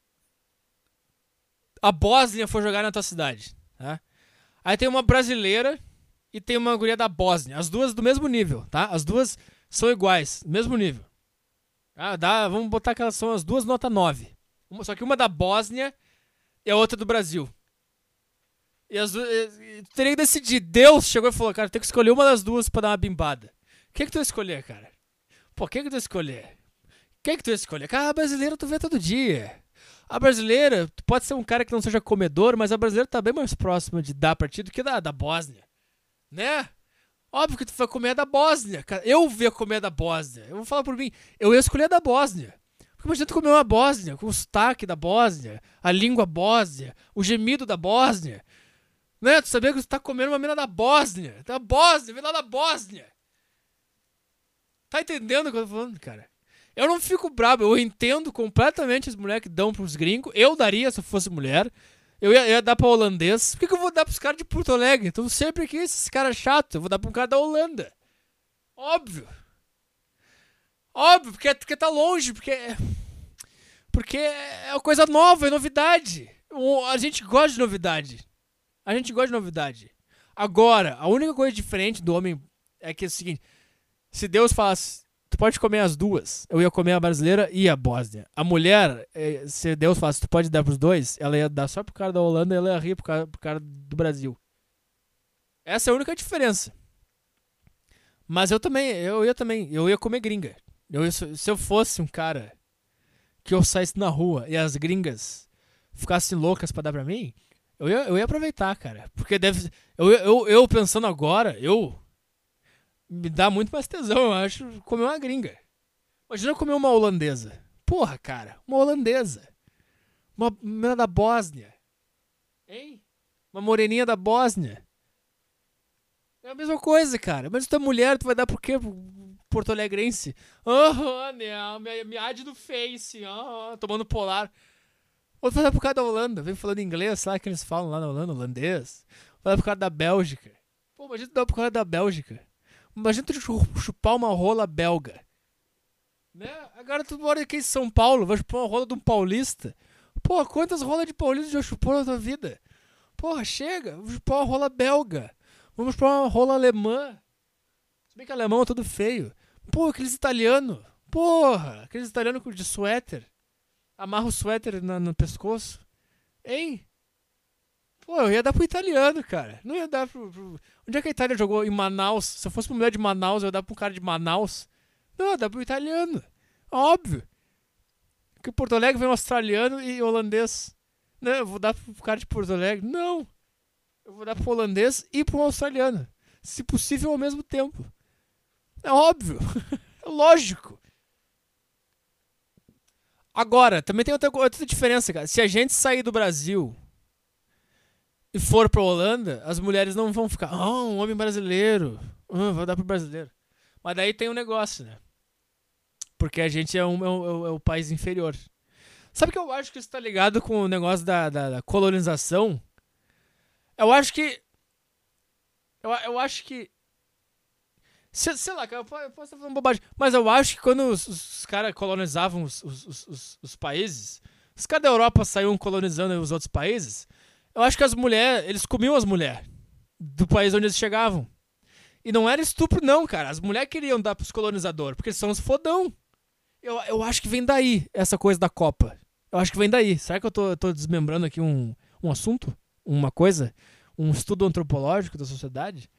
a Bósnia for jogar na tua cidade, tá? Aí tem uma brasileira e tem uma guria da Bósnia. As duas do mesmo nível, tá? As duas são iguais, mesmo nível. Vamos botar que elas são as duas nota 9. Só que uma da Bósnia e a outra do Brasil. E as duas... Teria que decidir. Deus chegou e falou, cara, tem que escolher uma das duas pra dar uma bimbada. O que tu vai escolher, cara? Pô, o que tu vai escolher? Cara, a brasileira tu vê todo dia. A brasileira, tu pode ser um cara que não seja comedor, mas a brasileira tá bem mais próxima de dar pra ti do que da Bósnia. Né? Óbvio que tu vai comer a da Bósnia, cara. Eu ia comer a da Bósnia. Eu vou falar por mim. Eu ia escolher a da Bósnia. Porque imagina tu comer uma Bósnia, com o sotaque da Bósnia, a língua Bósnia, o gemido da Bósnia. Né? Tu sabia que tu tá comendo uma mina da Bósnia. Da Bósnia, vem lá da Bósnia. Tá entendendo o que eu tô falando, cara? Eu não fico brabo, eu entendo completamente as mulheres que dão pros gringos. Eu daria se eu fosse mulher. Eu ia dar pra holandês. Por que eu vou dar pros caras de Porto Alegre? Então sempre que esses caras chatos, eu vou dar pra um cara da Holanda. Óbvio. Óbvio, porque tá longe, porque é uma coisa nova, é novidade. A gente gosta de novidade. Agora, a única coisa diferente do homem é que é o seguinte: se Deus falasse, Tu pode comer as duas. Eu ia comer a brasileira e a Bósnia. A mulher, se Deus falasse, tu pode dar pros dois, ela ia dar só pro cara da Holanda e ela ia rir pro cara do Brasil. Essa é a única diferença. Mas eu ia comer gringa. Se eu fosse um cara que eu saísse na rua e as gringas ficassem loucas pra dar pra mim, eu ia aproveitar, cara. Porque eu pensando agora, me dá muito mais tesão, eu acho, comer uma gringa. Imagina comer uma holandesa. Porra, cara, uma holandesa. Uma menina da Bósnia. Hein? Uma moreninha da Bósnia. É a mesma coisa, cara. Mas tu é mulher, tu vai dar por quê? Porto Alegrense? Não, minha ad do Face. Tomando polar. Ou tu vai dar pro cara da Holanda. Vem falando inglês, sabe que eles falam lá na Holanda, holandês. Vai dar pro cara da Bélgica. Pô, imagina tu dar pro cara da Bélgica. Imagina tu chupar uma rola belga. Né? Agora tu mora aqui em São Paulo, vai chupar uma rola de um paulista. Pô, quantas rolas de paulista já chupou na tua vida? Porra, chega. Vou chupar uma rola belga. Vamos chupar uma rola alemã. Se bem que alemão é tudo feio. Pô, aqueles italianos. Porra, aqueles italianos de suéter. Amarra o suéter no pescoço. Hein? Pô, eu ia dar pro italiano, cara. Não ia dar pro... Onde é que a Itália jogou? Em Manaus. Se eu fosse uma mulher de Manaus, eu ia dar pro cara de Manaus. Não, eu ia dar pro italiano. Óbvio. Porque Porto Alegre vem um australiano e holandês. Não, eu vou dar pro cara de Porto Alegre. Não. Eu vou dar pro holandês e pro australiano. Se possível, ao mesmo tempo. É óbvio. É lógico. Agora, também tem outra diferença, cara. Se a gente sair do Brasil e for pra Holanda, as mulheres não vão ficar, um homem brasileiro, vou dar pro brasileiro. Mas daí tem um negócio, né? Porque a gente é o país inferior. Sabe que eu acho que isso tá ligado com o negócio da colonização? Eu acho que... Sei lá, eu posso estar falando bobagem, mas eu acho que quando os caras colonizavam os países, os caras da Europa saíam colonizando os outros países, eu acho que as mulheres, eles comiam as mulheres do país onde eles chegavam. E não era estupro não, cara. As mulheres queriam dar pros colonizadores, porque eles são os fodão. Eu acho que vem daí essa coisa da Copa. Eu acho que vem daí. Será que eu tô desmembrando aqui um assunto? Uma coisa? Um estudo antropológico da sociedade?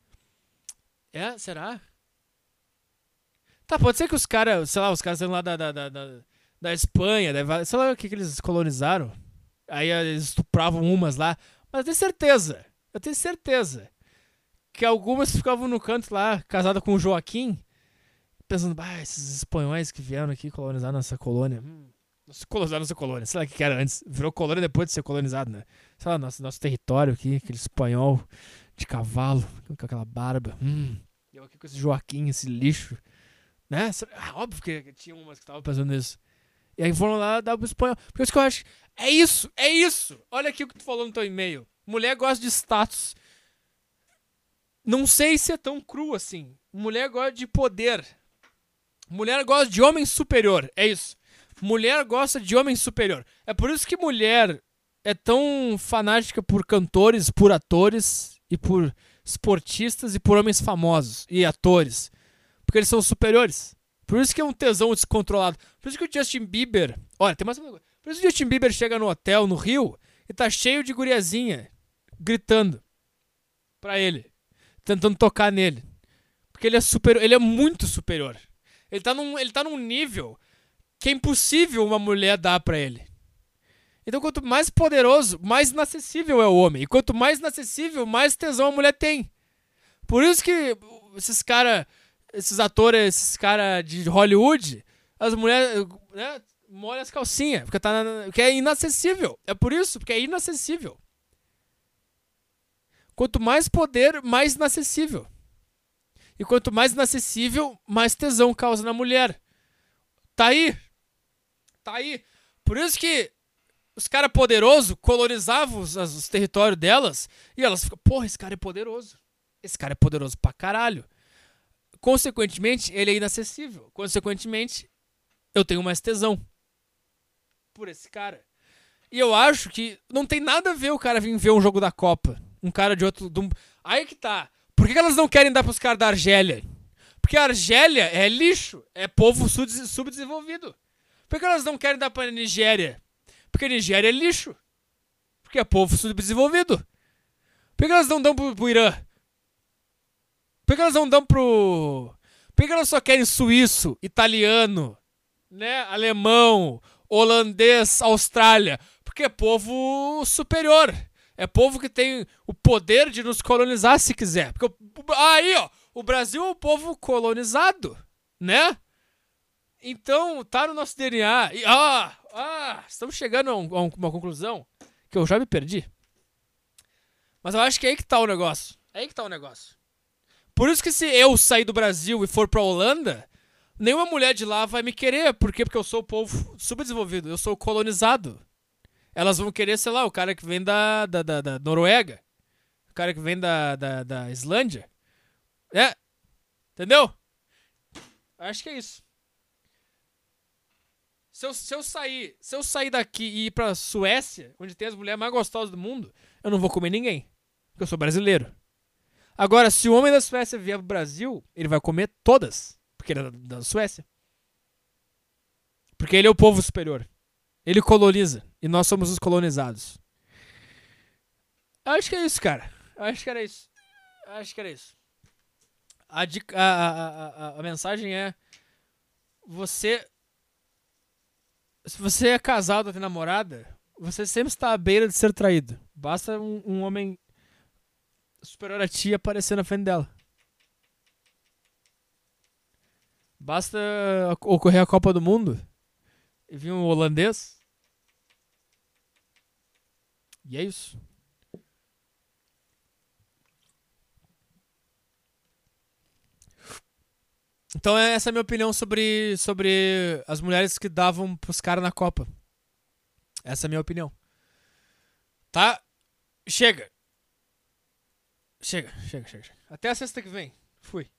Será? Tá, pode ser que os caras, sei lá, os caras são lá da Espanha, sei lá o que eles colonizaram. Aí eles estupravam umas lá. Mas eu tenho certeza que algumas ficavam no canto lá, casadas com o Joaquim, pensando, esses espanhóis que vieram aqui colonizar nossa colônia. Colonizar nossa colônia, sei lá o que era antes. Virou colônia depois de ser colonizado, né? Sei lá, nosso território aqui, aquele espanhol de cavalo, com aquela barba. Eu aqui com esse Joaquim, esse lixo. Né? Óbvio que tinha umas que estavam pensando nisso. E aí foram lá dar pro espanhol. Por isso que eu acho. É isso! Olha aqui o que tu falou no teu e-mail. Mulher gosta de status. Não sei se é tão cru assim. Mulher gosta de poder. Mulher gosta de homem superior. É isso. Mulher gosta de homem superior. É por isso que mulher é tão fanática por cantores, por atores e por esportistas e por homens famosos e atores. Porque eles são superiores. Por isso que é um tesão descontrolado. Por isso que o Justin Bieber... Olha, tem mais uma coisa. Por isso que o Justin Bieber chega no hotel, no Rio, e tá cheio de guriazinha gritando pra ele. Tentando tocar nele. Porque ele é superior. Ele é muito superior. Ele tá num nível que é impossível uma mulher dar pra ele. Então, quanto mais poderoso, mais inacessível é o homem. E quanto mais inacessível, mais tesão a mulher tem. Por isso que esses atores, esses caras de Hollywood, as mulheres, né, molham as calcinhas, porque é inacessível. É por isso, porque é inacessível. Quanto mais poder, mais inacessível. E quanto mais inacessível, mais tesão causa na mulher. Tá aí. Por isso que os caras poderosos colonizavam os territórios delas e elas ficam, porra, esse cara é poderoso. Esse cara é poderoso pra caralho. Consequentemente, ele é inacessível. Consequentemente, eu tenho mais tesão por esse cara. E eu acho que não tem nada a ver o cara vir ver um jogo da Copa. Um cara de outro... Aí que tá. Por que elas não querem dar pros caras da Argélia? Por Porque a Argélia é lixo, é povo subdesenvolvido. Por que elas não querem dar pra Nigéria? Porque a Nigéria é lixo. Porque é povo subdesenvolvido. Por que elas não dão pro Irã? Por que elas não dão pro... Por que elas só querem suíço, italiano, né, alemão, holandês, Austrália? Porque é povo superior. É povo que tem o poder de nos colonizar se quiser. Porque aí, ó, o Brasil é um povo colonizado, né? Então, tá no nosso DNA. E, estamos chegando a uma conclusão que eu já me perdi. Mas eu acho que é aí que tá o negócio. É aí que tá o negócio. Por isso que se eu sair do Brasil e for pra Holanda, nenhuma mulher de lá vai me querer. Por quê? Porque eu sou o povo subdesenvolvido. Eu sou colonizado. Elas vão querer, sei lá, o cara que vem da Noruega. O cara que vem da Islândia. É. Entendeu? Acho que é isso. Se eu sair daqui e ir pra Suécia, onde tem as mulheres mais gostosas do mundo, eu não vou comer ninguém. Porque eu sou brasileiro. Agora, se o homem da Suécia vier pro Brasil, ele vai comer todas. Porque ele é da Suécia. Porque ele é o povo superior. Ele coloniza. E nós somos os colonizados. Acho que é isso, cara. Acho que era isso. A mensagem é... Se você é casado ou tem namorada, você sempre está à beira de ser traído. Basta um homem superior a ti aparecer na frente dela. Basta ocorrer a Copa do Mundo e vir um holandês. E é isso. Então essa é a minha opinião sobre as mulheres que davam pros caras na Copa. Essa é a minha opinião. Tá? Chega. Até a sexta que vem. Fui.